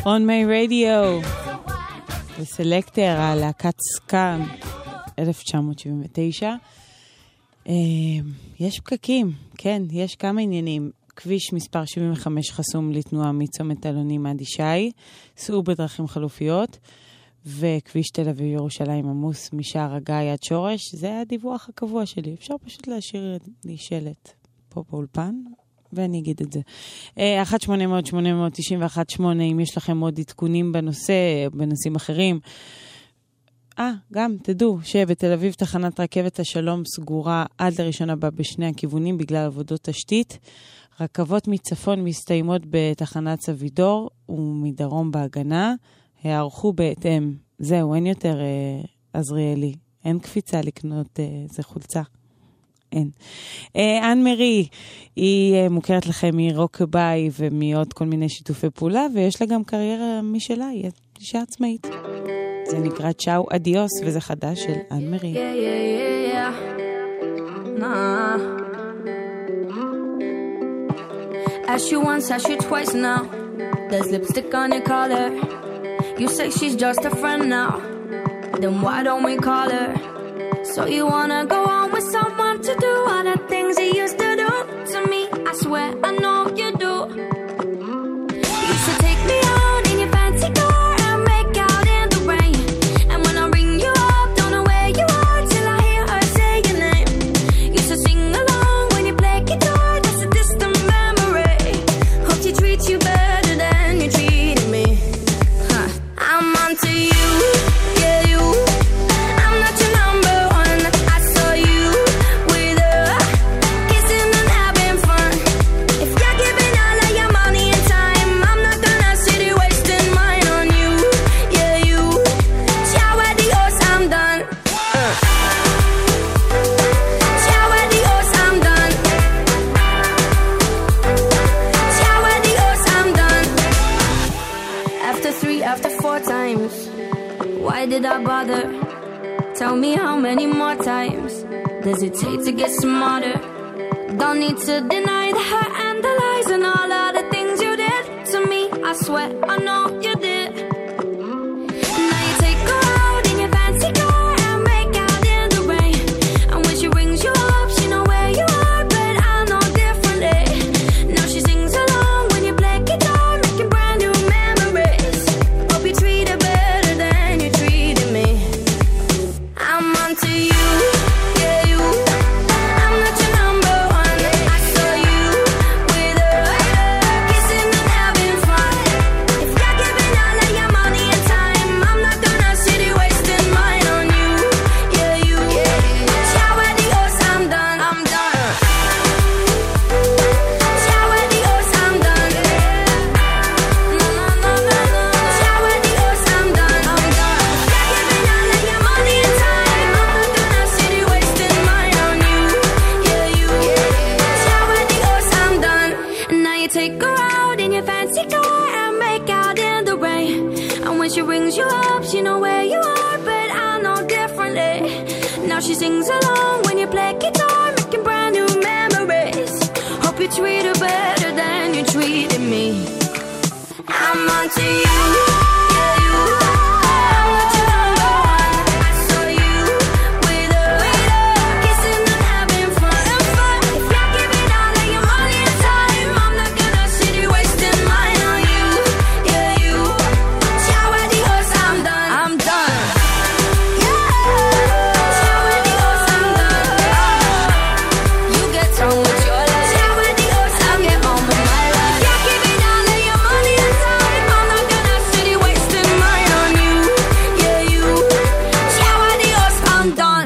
On My Radio. וסלקטר, הלהקת סקאם, 1979. יש פקקים, כן, יש כמה עניינים. כביש מספר 75 חסום לתנועה מצומת אלונים עד ישי, סעו בדרכים חלופיות, וכביש תל אביב ירושלים עמוס משער הגיא עד שורש. זה הדיווח הקבוע שלי. אפשר פשוט להשאיר לי שלט פה באולפן, ואני אגיד את זה. 1-800-891-8, אם יש לכם עוד עדכונים בנושא, בנושאים אחרים. גם תדעו שבתל אביב תחנת רכבת השלום סגורה עד לראשון הבא בשני הכיוונים בגלל עבודות תשתית. רכבות מצפון מסתיימות בתחנת סבידור ומדרום בהגנה. הערכו בהתאם. זהו, אין יותר עזריאלי. אין קפיצה לקנות זה חולצה. אין. אן מרי, היא מוכרת לכם מרוקביי ומעוד כל מיני שיתופי פעולה, ויש לה גם קריירה משלה, היא אישה עצמאית. זה נקרא צ'או אדיוס, וזה חדש של אן מרי. Ask you once, ask you twice now. There's lipstick on your collar. You say she's just a friend now. Then why don't we call her? So you wanna go on with someone to do all the things you used to do to me? I swear I know you do. You should take me out in your fancy car and make out in the rain. And when I ring you up, don't know where you are till I hear her say your name. You should sing along when you play guitar, that's a distant memory. Hope she treats you better than you treated me. I'm onto you, yeah you. I'm not your number one. I saw you with her, kissing and having fun. If you're giving all of your money and time, I'm not gonna sit here wasting mine on you, yeah you. Ciao adios, I'm done. Ciao adios, I'm done. Ciao adios, I'm done. After 3, after 4 times, why did I bother? Tell me how many more times does it take to get smarter? Don't need to deny the hurt and the lies and all of the things you did to me. I swear I know you did. Now you take her out in your fancy car and make out in the rain. And when she rings you up, she know where you are, but I know differently. Now she sings along when you play guitar, making brand new memories. Hope you treat her better than you treated me. I'm onto you, yeah you. I'm not your number one. I saw you with her, kissing and having fun. If you're giving all of your money and time, I'm not gonna sit here wasting mine on you, yeah you. Ciao adios, I'm done. I'm done. Ciao adios, I'm done. No no no no no. Ciao adios, I'm done. I'm done. If you're giving all of your money and time, I'm not gonna sit here wasting mine on you, yeah you. Ciao adios, I'm done. And now you take her out in your fancy car and make out in the rain. And when she rings you up, she know where you are, but I know differently. Now she sings along when you play guitar, making brand new memories. Hope you treat her better than you treated me. I'm onto you, yeah you. I'm not your number one. I saw you with her, kissing and having fun. If you're giving all of your money and time, I'm not gonna sit here wasting mine on you, yeah you. Ciao adios, I'm done. I'm done. Ciao adios, I'm done. You get on with your life. Ciao adios, I'll get on with my life. If you're giving all of your money and time, I'm not gonna sit here wasting mine on you, yeah you. Ciao adios, I'm done.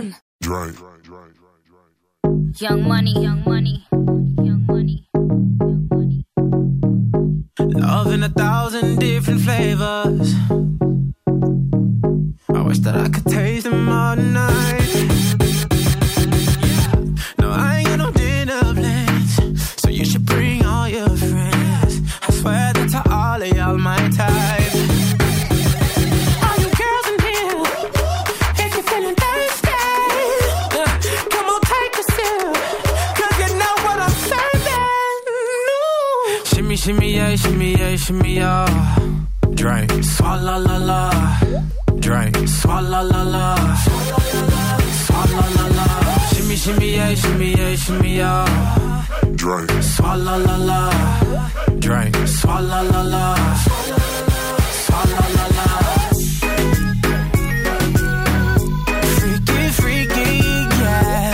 Young money, young money, young money. Love in 1,000 different flavors. I wish that I could taste them all night. No, I ain't got no dinner plans, so you should bring all your friends. I swear that to all of y'all my type. All you girls in here, if you're feeling thirsty, come on take a sip, 'cause you know what I'm serving. Shimmy, shimmy, yeah, shimmy, yeah, shimmy, yeah. drink, swalla la la, drink, swalla la la, swalla la la, shimmy shimmy yeah, shimmy yeah, shimmy yeah, drink, swalla la la, drink, swalla la la, swalla la la. Freaky, freaky, yeah.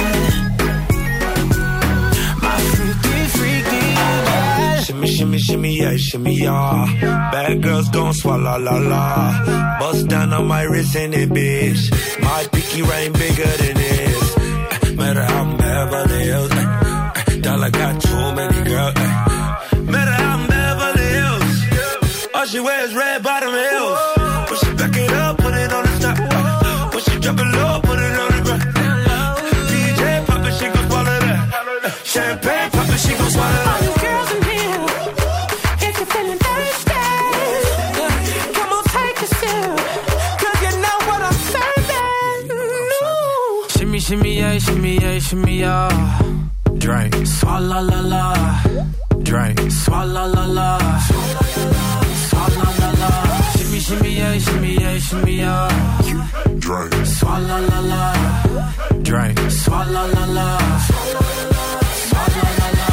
My freaky, freaky, yeah. Shimmy, shimmy, shimmy, yeah, shimmy, yeah. Bad girls gon' swallow la la. Bust down on my wrist in it, bitch. My pinky ring bigger than this. Matter how I'm Beverly Hills. Dollar got too many girls. Matter how I'm Beverly Hills. All she wears red bottom heels. When she back it up, put it on the top. When she drop it low, put it on the ground. DJ pop it, she gon' swallow that. Champagne pop it, she gon' swallow that. All you girls in here, if you're feeling thirsty, come on, take a sip, 'cause you know what I'm serving. Shimmy, shimmy, yeah, shimmy, yeah, shimmy, yeah. Drink, swalla la la, drink, swalla la la, swalla la la, shimmy, shimmy, yeah, shimmy, yeah, shimmy, yeah. drink, Swalla la la, drink, swalla la la, swalla la la.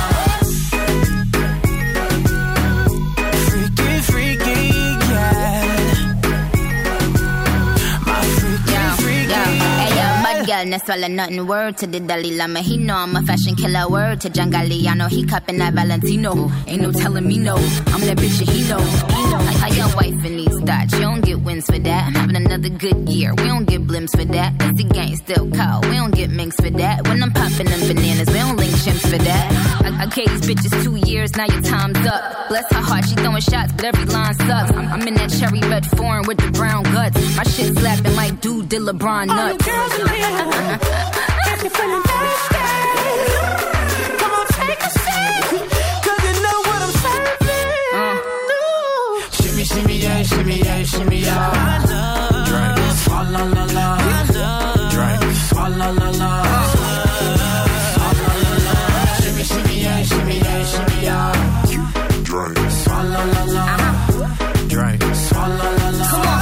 Freaky, freaky, yeah. My freaky, freaky, Hey yo, mud girl, no swallow nothing. Word to the Dalai Lama, he know I'm a fashion killer. Word to John Galliano, he cupping that Valentino. Ain't no telling me no, I'm that bitch and he know. How your wife in these thoughts, you don't get wins for that. I'm having another good year, we don't get blimps for that. It's the gang still cold, we don't get minks for that. When I'm popping them bananas, we don't link chimps for that. I gave these bitches 2 years, now your time's up. Bless her heart, she throwing shots, but every line sucks. I'm in that cherry red foreign with the brown guts. My shit slapping like dude did LeBron nuts. All you girls in here, if you're feeling thirsty, come on, take a sip, 'cause you know what I'm serving. Shimmy, shimmy, yeah, shimmy, yeah, shimmy, yeah. Drink, swalla la la, drink, swalla la la, swalla la la. Shimmy, shimmy, yeah, shimmy, yeah, shimmy, yeah. drink, Swalla la la, drink, swalla la la. Come on.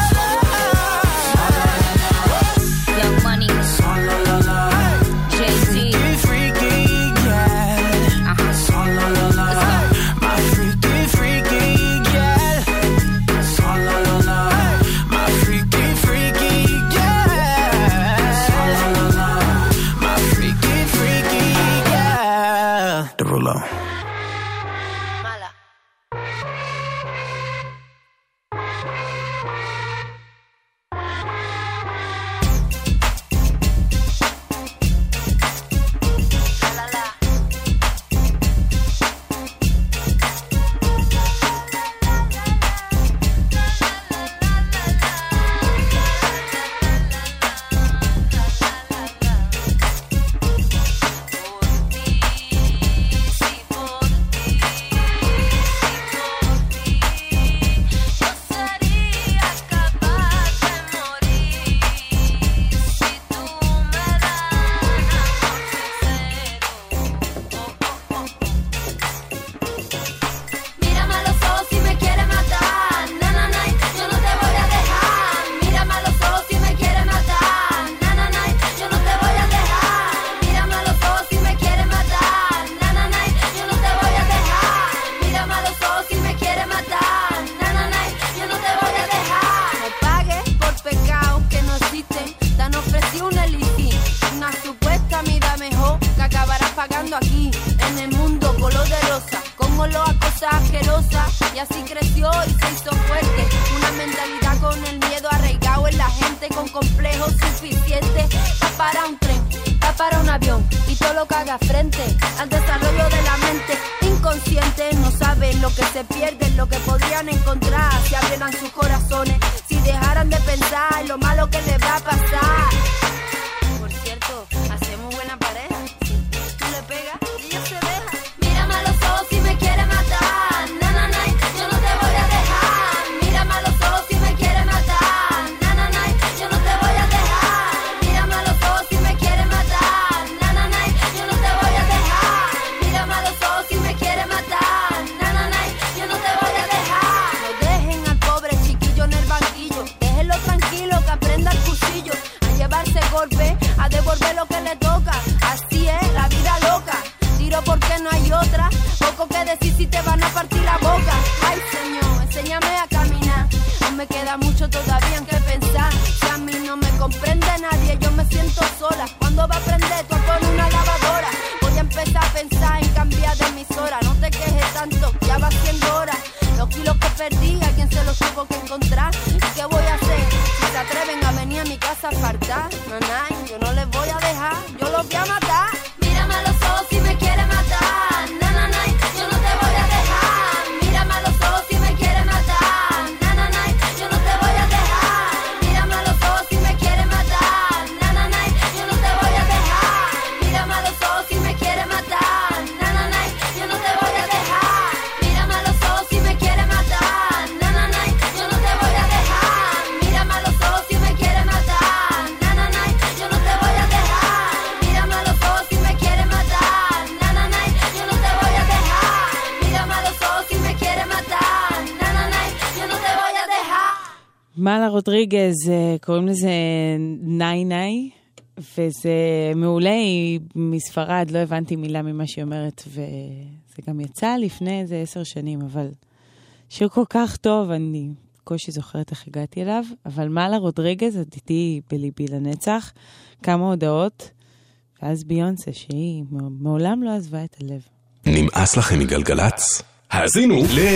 Young Money, Swalla la la, Jay-Z, freaky, yeah. Swalla la la, my freaky, freaky, yeah. Swalla la la, my freaky, freaky, yeah. Swalla la la, my freaky, freaky, yeah. Derulo. Mírame a los ojos si me quieres matar, na na na, yo no te voy a dejar. Mírame a los ojos si me quieres matar, na na na, yo no te voy a dejar. Mírame a los ojos si me quieres matar, na na na, yo no te voy a dejar. Mírame a los ojos si me quieres matar, na na na, yo no te voy a dejar. No pagues por pecados que no existen, te han ofrecido una listín, una supuesta vida mejor que acabarás pagando aquí en el mundo color de rosa. Como lo acosa asquerosa y así creció y se hizo fuerte. Una mentalidad con el miedo arraigado en la gente, con complejos suficientes. Va para un tren, va para un avión y todo lo que haga frente al desarrollo de la mente. Inconscientes no saben lo que se pierden, lo que podrían encontrar si abrieran sus corazones, si dejaran de pensar en lo malo que les va a pasar. Por cierto, hacemos buena pareja. Tú le pegas y ella se deja. Mírame a los ojos si me quieres matar, na na na, yo no te voy a dejar. Mírame a los ojos si me quieres matar, na na na, yo no te voy a dejar. Mírame a los ojos si me quieres matar, na na na, yo no te voy a dejar. Mírame a los ojos si me quieres matar, na na na, yo no te voy a dejar. No dejen al pobre chiquito a matar. Mírame a los ojos si me quieres matar. Na, na, na, yo no te voy a dejar. Mírame a los ojos si me quieres matar. Na, na, na, yo no te voy a dejar. Mírame a los ojos si me quieres matar. Na, na, na, yo no te voy a dejar. Mírame a los ojos si me quieres matar. Na, na, na, yo no te voy a dejar. Mírame a los ojos si me quieres matar. Na, na, na, yo no te voy a dejar. Mírame a los ojos si me quieres matar. Na, na, na, yo no te voy a dejar. Mírame a los ojos si me quieres matar. Na, na, na, yo no te voy a dejar. Mírame a los ojos si me quieres matar. Na, na, na, yo no te voy a dejar. מעלה רודריגז, קוראים לזה ניי ניי, וזה מעולה, היא מספרד, לא הבנתי מילה ממה שהיא אומרת, וזה גם יצא לפני איזה 10 שנים, אבל שיר כל כך טוב, אני קושי זוכרת איך הגעתי אליו, אבל מעלה רודריגז, את איתי בליבי לנצח, כמה הודעות, ואז ביונסה, שהיא מעולם לא עזבה את הלב. נמאס לכם מגלגלץ? האזינו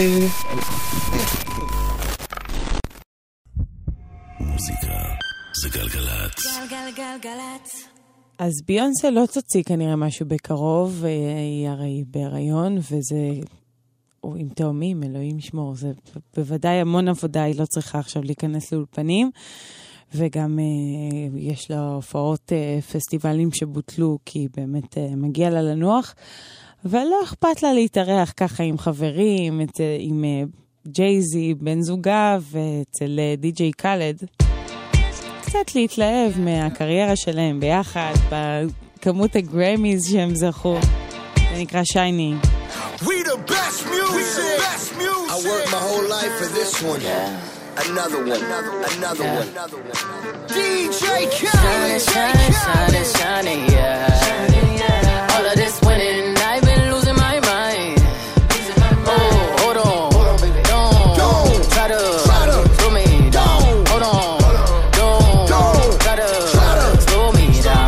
מוזיקה זה גלגלץ. גלגלגלגלץ. אז ביונסה לא תוציא כנראה משהו בקרוב, היא הרי בהיריון, וזה עם תאומים, אלוהים ישמור, זה בוודאי המון עבודה, היא לא צריכה עכשיו להיכנס לאולפנים, וגם יש לה הופעות פסטיבלים שבוטלו, כי באמת מגיע לה לנוח, ולא אכפת לה להתארח ככה עם חברים, עם ג'ייזי, בן זוגה, ואצל די-ג'יי קלד. קצת להתלהב מהקריירה שלהם ביחד, בכמות הגרמיז שהם זכו. זה נקרא שייני. We the best music. I worked my whole life for this one. Another one. DJ Khaled. Shining, yeah. All of this winning, I've been losing my mind. Oh, hold on. Don't try to slow me down. Hold on. Don't try to slow me down.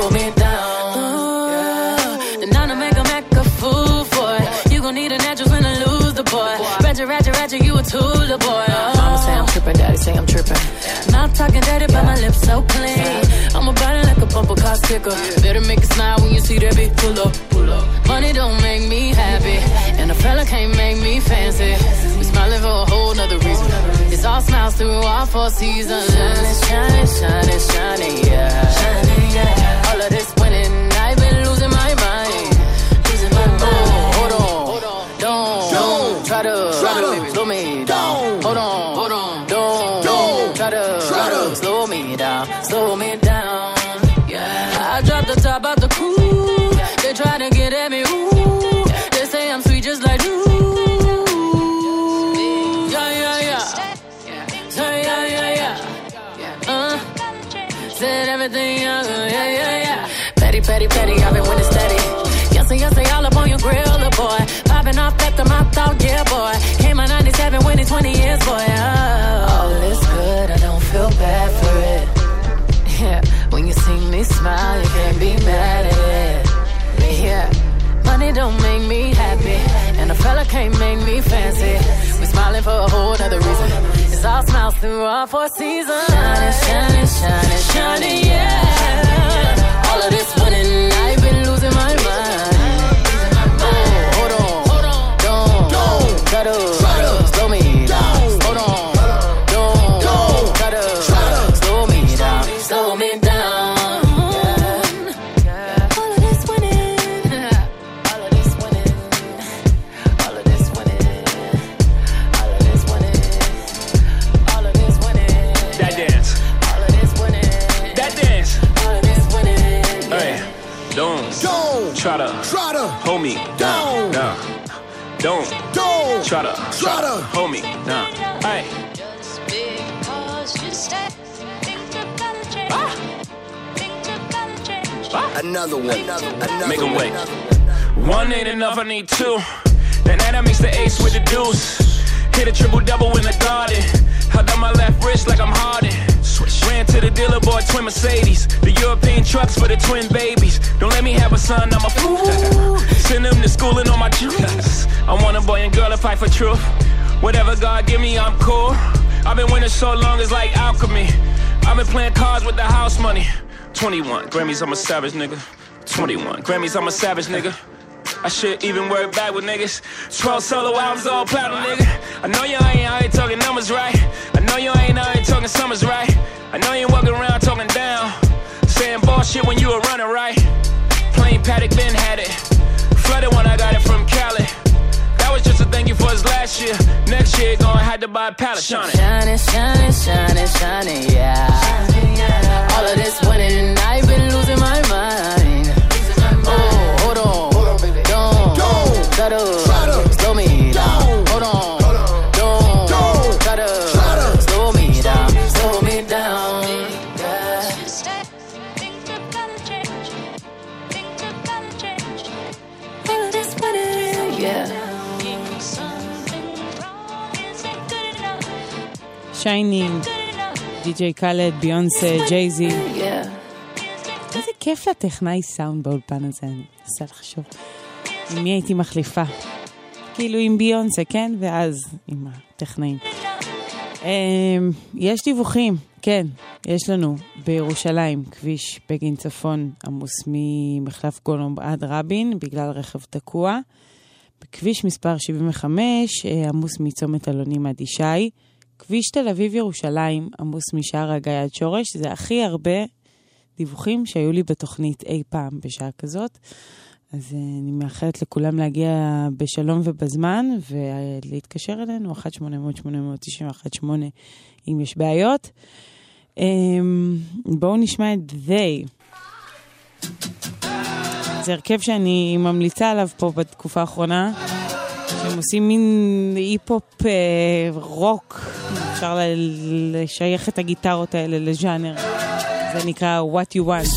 Then I'm gonna make a fool for it. You gon' need a natural when I lose the boy. Ratchet, you a tool, boy. Mama say I'm tripping, daddy say I'm tripping. Not talking dirty, but my lips so clean. I'm about it like a bumper car sticker. Better make it smile when you see that big pull up. Money don't make me happy, and a fella can't make me fancy. We smiling for a whole nother reason. It's all smiles through all 4 seasons. Shining, yeah. All of this winning, I've been losing my mind. Oh, hold on. Don't try to slow me down. Hold on. Don't try to slow me down. Yeah. I dropped the top out the coupe. They try to get at me. Ooh. They say I'm sweet just like you. Yeah. Said everything young. Yeah. Petty. I've been winning steady. Yes, all up on your grill, boy. Popping off at the mouth out, yeah, boy. Came on 97, winning 20 years, boy. All is good, I don't feel bad for it. Yeah, when you see me smile, you can't be mad at it. Yeah, money don't make me happy, and a fella can't make me fancy. We smiling for a whole other reason. It's all smiles through all 4 seasons. Shining, yeah. All of this winning, I've been losing my mind. Hold on. Don't try to slow me down. Hold on. Don't try to slow me down. Yeah. All of this winning. All of this winning. All of this winning. All of this winning. All of this winning. That dance. All of this winning. That dance. All of this winning. Hey, don't try to hold me down. Nah. Don't try to hold me down. Hey. Another one. Make 'em wait. One ain't enough, I need 2. Then that makes the ace with the deuce. Hit a triple-double in the garden. Held on my left wrist like I'm Harden. Ran to the dealer, bought twin Mercedes. The European trucks for the twin babies. Don't let me have a son, I'm a fool. Send them to school and on my juice. I want a boy and girl to fight for truth. Whatever God give me, I'm cool. I've been winning so long, it's like alchemy. I've been playing cards with the house money. 21, Grammys, I'm a savage nigga. 21 Grammys, I'm a savage, nigga. I should even work back with niggas. 12 solo albums, all platinum, nigga. I know you ain't out here talking numbers right. I know you ain't out here talking summers right. I know you ain't walking around talking down, saying bullshit when you were running right. Plain Paddock, Ben had it. Flooded when I got it from Cali. That was just a thank you for his last year. Next year, gonna have to buy a pallet. Shining, shining, shining, shining, shining, yeah. All of this winning and I've been losing my mind. Oh, hold on, baby. Don't try to slow me down. Hold on, don't try to slow me down. Slow me down. All of this winning, yeah. שיינינג, די.ג'יי קאלד, ביונסה, ג'ייזי. איזה כיף לטכנאי סאונד באולפן הזה, אני מנסה לחשוב. עם מי הייתי מחליפה? כאילו עם ביונסה, כן? ואז עם הטכנאים. יש דיווחים, כן, יש לנו בירושלים, כביש בגין צפון עמוס ממחלף גולומב עד רבין, בגלל רכב תקוע. בכביש מספר 75 עמוס מצומת אלונים עד ישי. כביש תל אביב ירושלים עמוס משער הגיא עד שורש. זה הכי הרבה דיווחים שהיו לי בתוכנית אי פעם בשעה כזאת. אז אני מאחלת לכולם להגיע בשלום ובזמן ולהתקשר אלינו 1-800-891-8 אם יש בעיות. בואו נשמע את They. זה הרכב שאני ממליצה עליו פה בתקופה האחרונה, שהם עושים מין היפ-הופ רוק, אפשר לשייך את הגיטרות האלה לז'אנר. זה נקרא What You Want.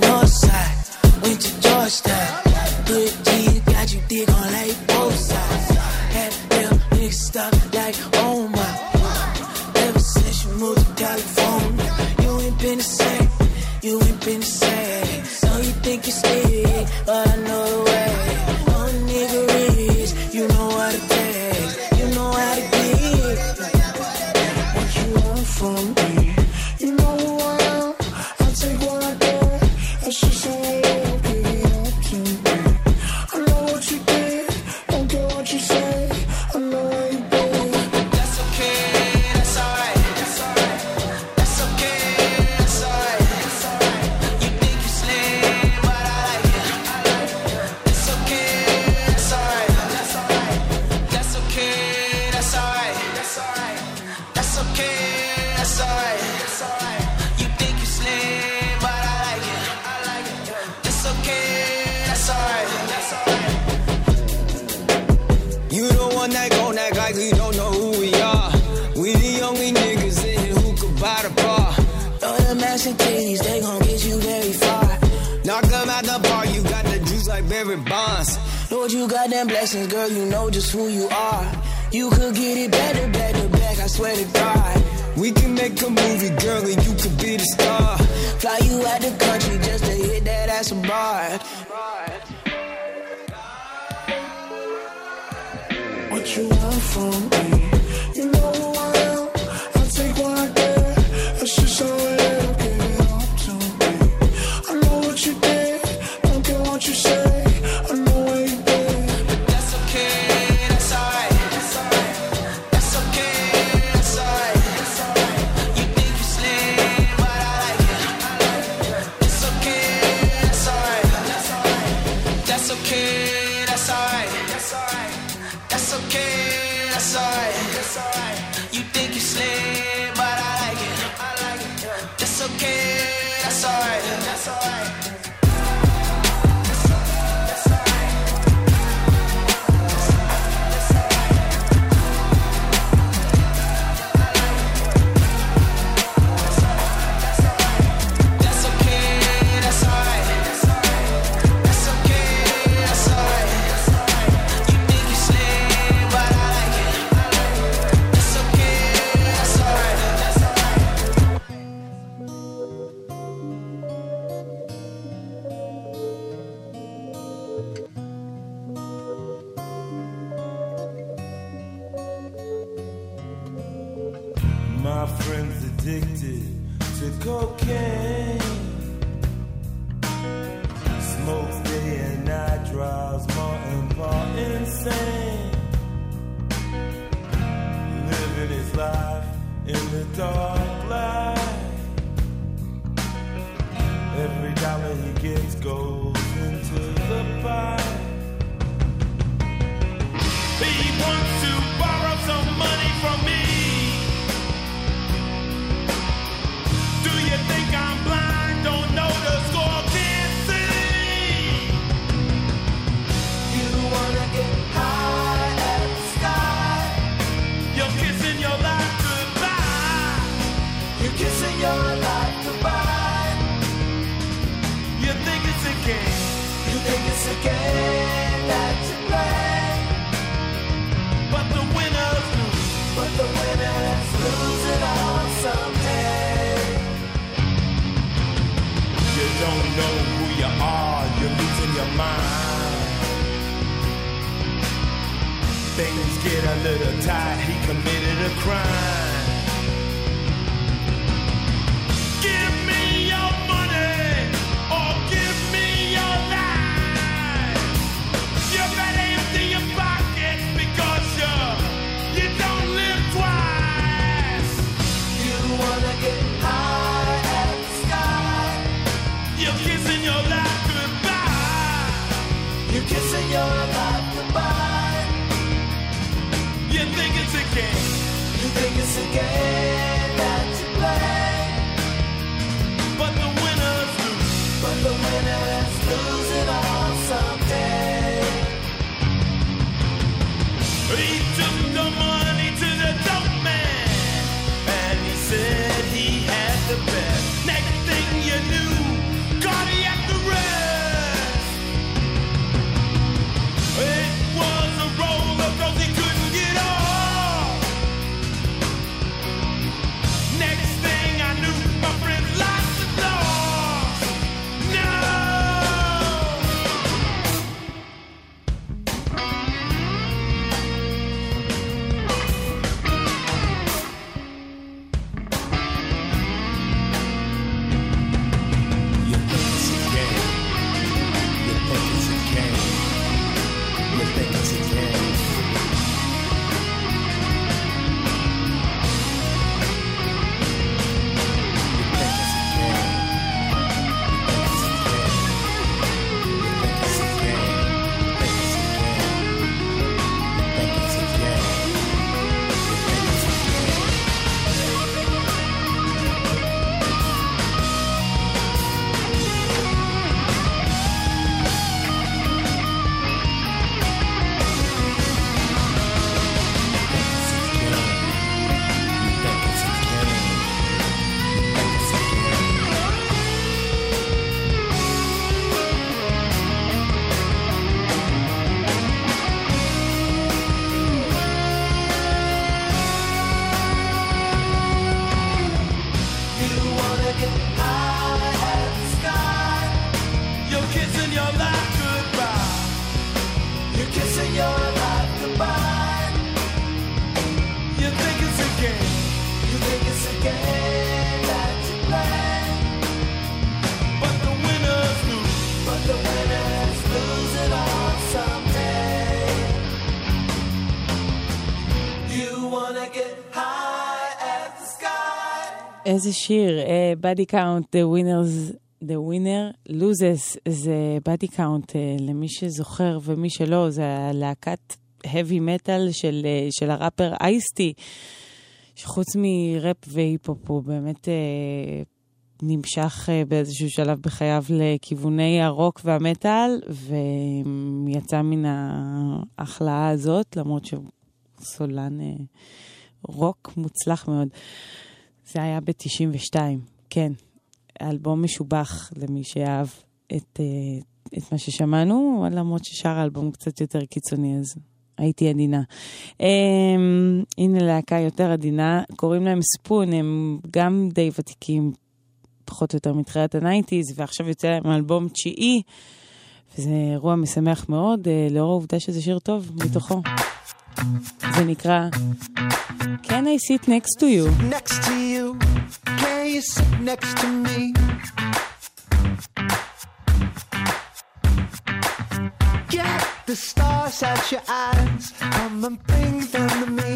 Good G's got you dig on like both sides. Had them niggas stuck like oh my. Ever since you moved to California, you ain't been the same. You ain't been the same. So you think you stay, but I know the way. No nigga is, you know what it takes. You know how to get what you want from me. You know who I am. I'll take what I get. That's just how I live. Give it up to me. I know what you did. Don't care what you say. I know how you do. That's okay. That's alright. That's alright. That's okay. That's alright. That's alright. You think you slim, but I like it. I like it. It's okay. That's alright. That's alright. That's okay. That's alright. That's alright. That's okay. That's alright. That's alright. You think you slim, but I like it. I like it. It's okay. That's alright. That's alright. You the one that gon' act like we don't know who we are. We the only niggas in here who could buy the bar. Throw them ass and titties, they gon' get you very far. Knock them out the bar, you got the juice like Barry Bonds. Lord, you got them blessings, girl, you know just who you are. You could get it better, back to back, I swear to God. We can make a movie, girl, and you could be the star. Fly you out the country just to hit that ass abroad. What you want from me? You know who I am. I'll take what I get. That's just how I live. Give it up to me. I know what you did. Don't care what you say. I know what you did. But that's okay. That's alright. That's alright. That's okay. That's alright. That's alright. You think you slim, but I like it. I like it. It's okay. That's alright. That's alright. That's okay. That's alright. That's alright. That's okay. That's alright. That's alright. You think you slim, but I like it. I like it. It's okay. That's alright. That's alright. That's okay. That's alright. That's okay. That's alright. You think you slim, but I like it. It's okay. That's alright. That's My friend's addicted to cocaine. Smokes drives more and more insane. Living his life in the dark light. Every dollar he gets goes into the pie. He wants to borrow some money from me. Do you think I'm blind? Don't know the score, can't see. You wanna get high at the sky. You're kissing your life goodbye. You're kissing your life goodbye. You think it's a game. You think it's a game that you play. But the winners lose. But the winners lose it all someday. You don't know who you are, you're losing your mind. Things get a little tight, he committed a crime. Give me your money, or give me your life. You better empty your pockets because you don't live twice. You wanna get high at the sky. You're kissing your life goodbye. You're kissing your life goodbye. You think it's a game. You think it's a game that you play. But the winners lose. But the winners lose it all someday. He took the money to the dope man, and he said he had the best. Next thing you knew, cardiac arrest. It was a roller coaster he couldn't get off. Next thing I knew, my friend lost the lost. No. You think it's a game. You think it's a game. You think it's a game. You wanna get high at the sky. You're kissing your life goodbye. You're kissing your life goodbye. You think it's a game. You think it's a game that you play. But the winners lose. But the winners lose it all someday. You wanna get high at the sky. איזה שיר, Body Count, The Winner Loses, זה Body Count, למי שזוכר ומי שלא, זה הלהקת heavy metal של הראפר אייסטי, שחוץ מראפ והיפ-הופ הוא באמת נמשך באיזשהו שלב בחייו לכיווני הרוק והמטל, ויצא מן ההחלאה הזאת, למרות שהוא סולן רוק מוצלח מאוד. זה היה ב-92, כן. אלבום משובח למי שאהב את מה ששמענו, למרות ששר האלבום קצת יותר קיצוני, אז הייתי עדינה. הנה להקה יותר עדינה, קוראים להם ספון, הם גם די ותיקים, פחות או יותר מתחילת ה-90s, ועכשיו יוצא להם אלבום 9, וזה אירוע משמח מאוד, לאור העובדה שזה שיר טוב מתוכו. זה נקרא Can I sit next to you? Next to you, can you sit next to me? the stars at your eyes, come and bring them to me.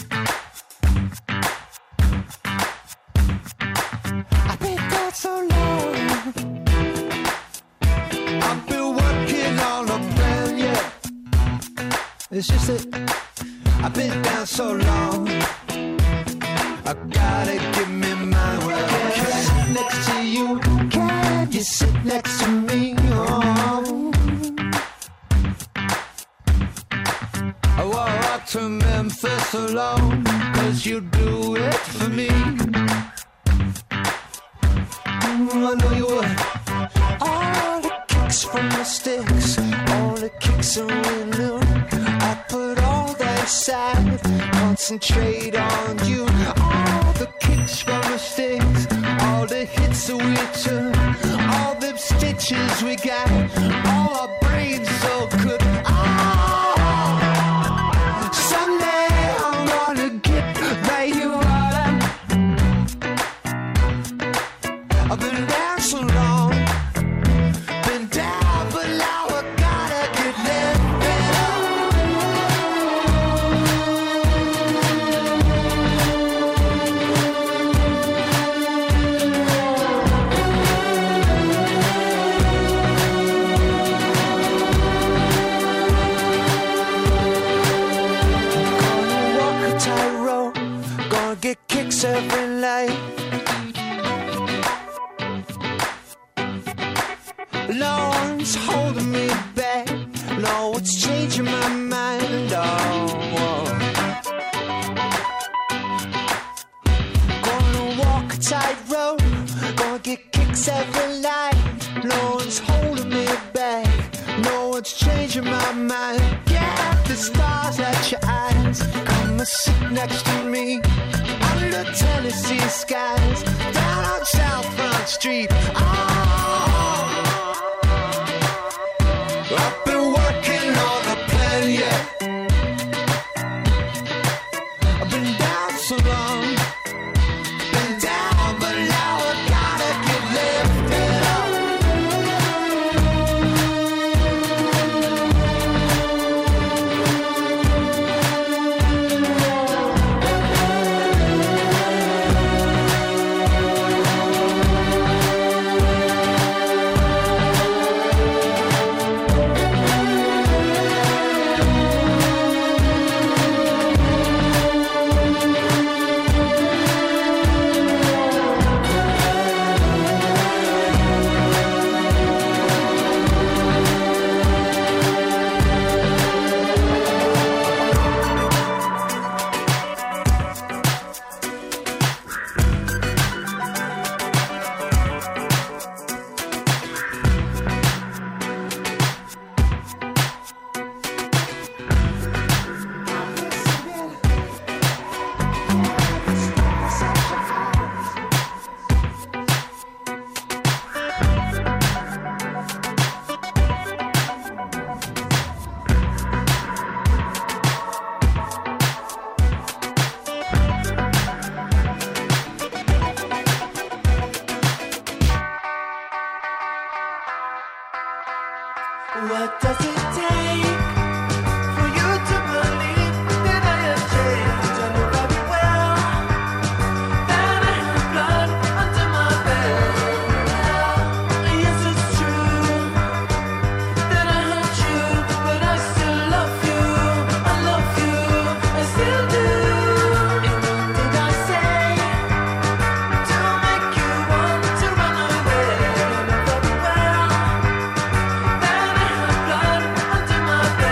I've been down so long, I've been working on a plan, yeah. It's just that I've been down so long, I gotta give me mine. Well, can I sit next to you? Can you sit next to me? Oh. I walk to Memphis alone, 'cause you do it for me. I know you would. All the kicks from the sticks, all the kicks that we knew, I put all that aside, concentrate on you. All the kicks from the sticks, all the hits that we took, all the stitches we got, all our brains so good. Someday I'm gonna get right you out. I've been down so long, been down, but now I gotta get lifted up. Gonna walk a tightrope, gonna get kicks every night. No one's holding me back. No, it's changing my mind. Oh, gonna walk a tightrope, gonna get kicks every night. No one's holding me back. No one's changing my mind. Get the stars at your eyes, come and sit next to me. Under Tennessee skies, down on South Front Street. I've been working on a plan, yeah. I've been down so long, been down, but now I gotta get lifted up. What does it take for you to believe that I have changed? I know very well that I have blood under my belt. Yes, it's true that I hurt you, but I still love you. I love you, I still do. And what did I say to make you want to run away? I know very well that I have blood under my belt.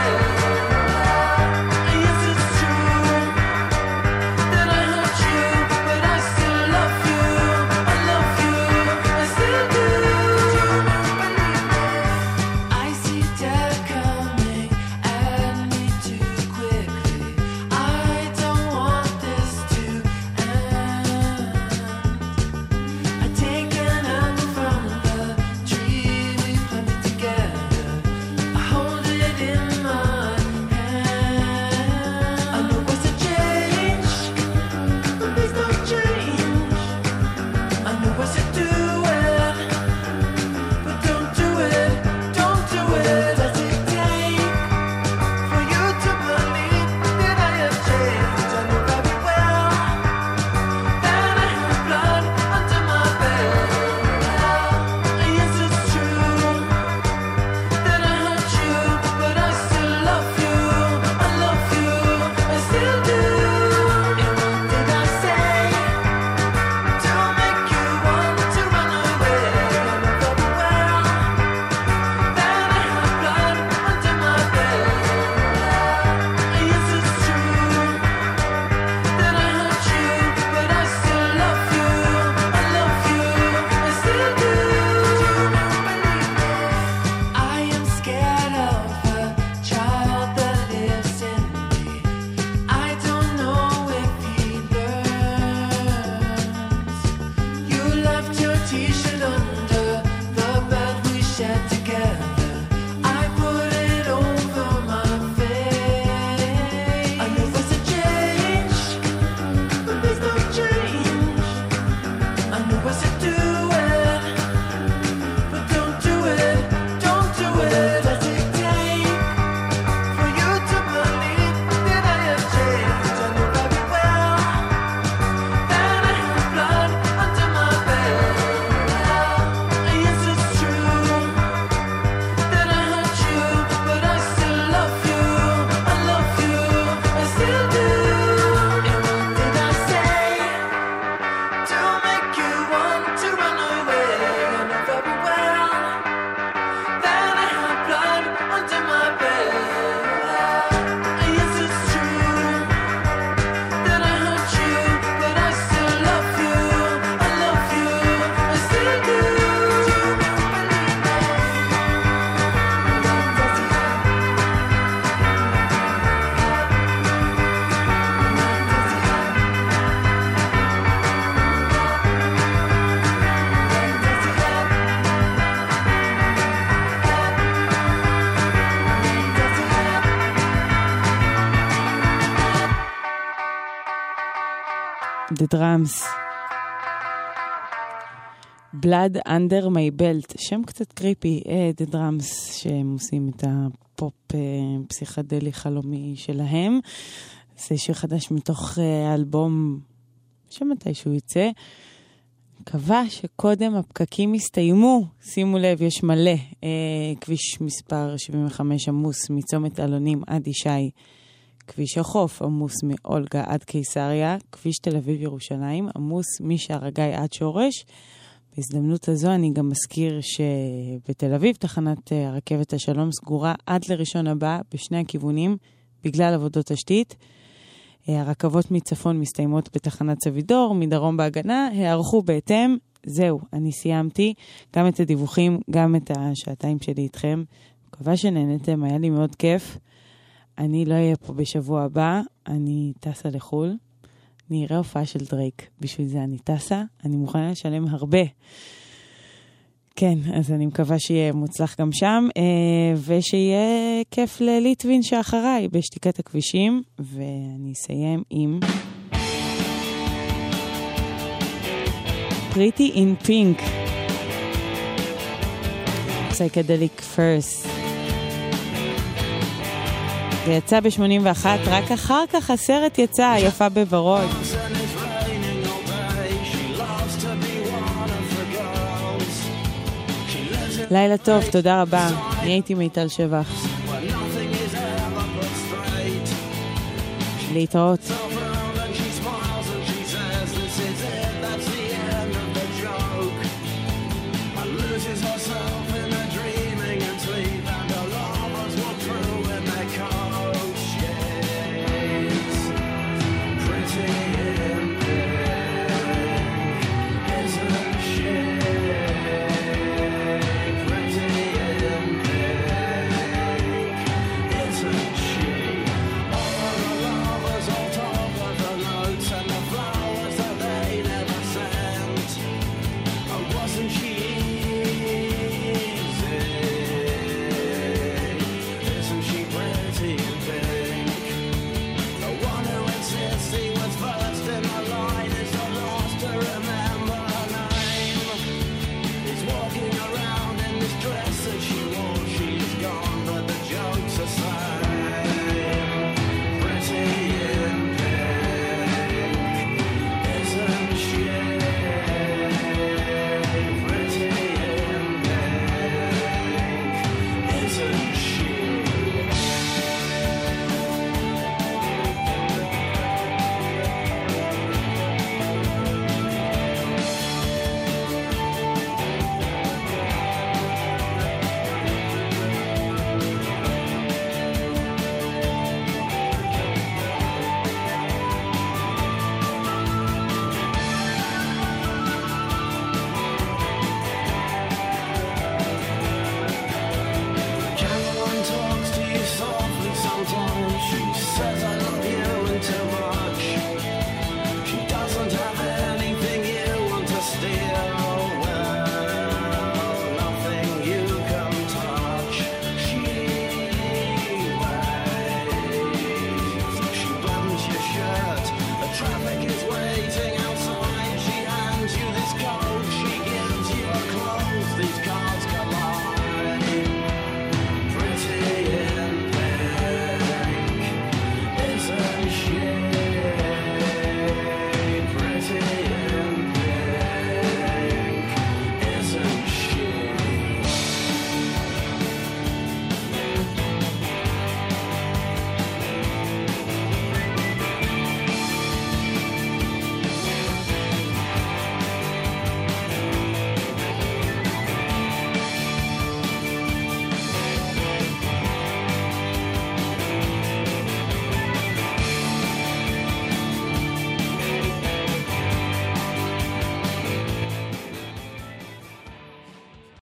The Drums. Blood Under My Belt, שם קצת קריפי, The Drums, שהם עושים את הפופ פסיכדלי חלומי שלהם. זה שיר חדש מתוך אלבום שמתישהו יצא. מקווה שקודם הפקקים הסתיימו. שימו לב, יש מלא. כביש מספר 75 עמוס מצומת אלונים עד ישי. כביש החוף עמוס מאולגה עד קיסריה. כביש תל אביב ירושלים עמוס משער הגיא עד שורש. בהזדמנות הזו אני גם מזכיר שבתל אביב תחנת הרכבת השלום סגורה עד לראשון הבא בשני הכיוונים בגלל עבודות תשתית. הרכבות מצפון מסתיימות בתחנת סבידור, מדרום בהגנה, הערכו בהתאם. זהו, אני סיימתי גם את הדיווחים, גם את השעתיים שלי איתכם. מקווה שנהנתם, היה לי מאוד כיף. אני לא אהיה פה בשבוע הבא, אני טסה לחול. אני אראה הופעה של דרייק, בשביל זה אני טסה, אני מוכנה לשלם הרבה. כן, אז אני מקווה שיהיה מוצלח גם שם, ושיהיה כיף לליטווין שאחריי בשתיקת הכבישים, ואני אסיים עם Pretty in Pink, Psychedelic First. זה יצא ב-81, רק אחר כך הסרט יצא, יפה בוורוד. לילה טוב, תודה רבה. אני הייתי מיטל שבח. להתראות.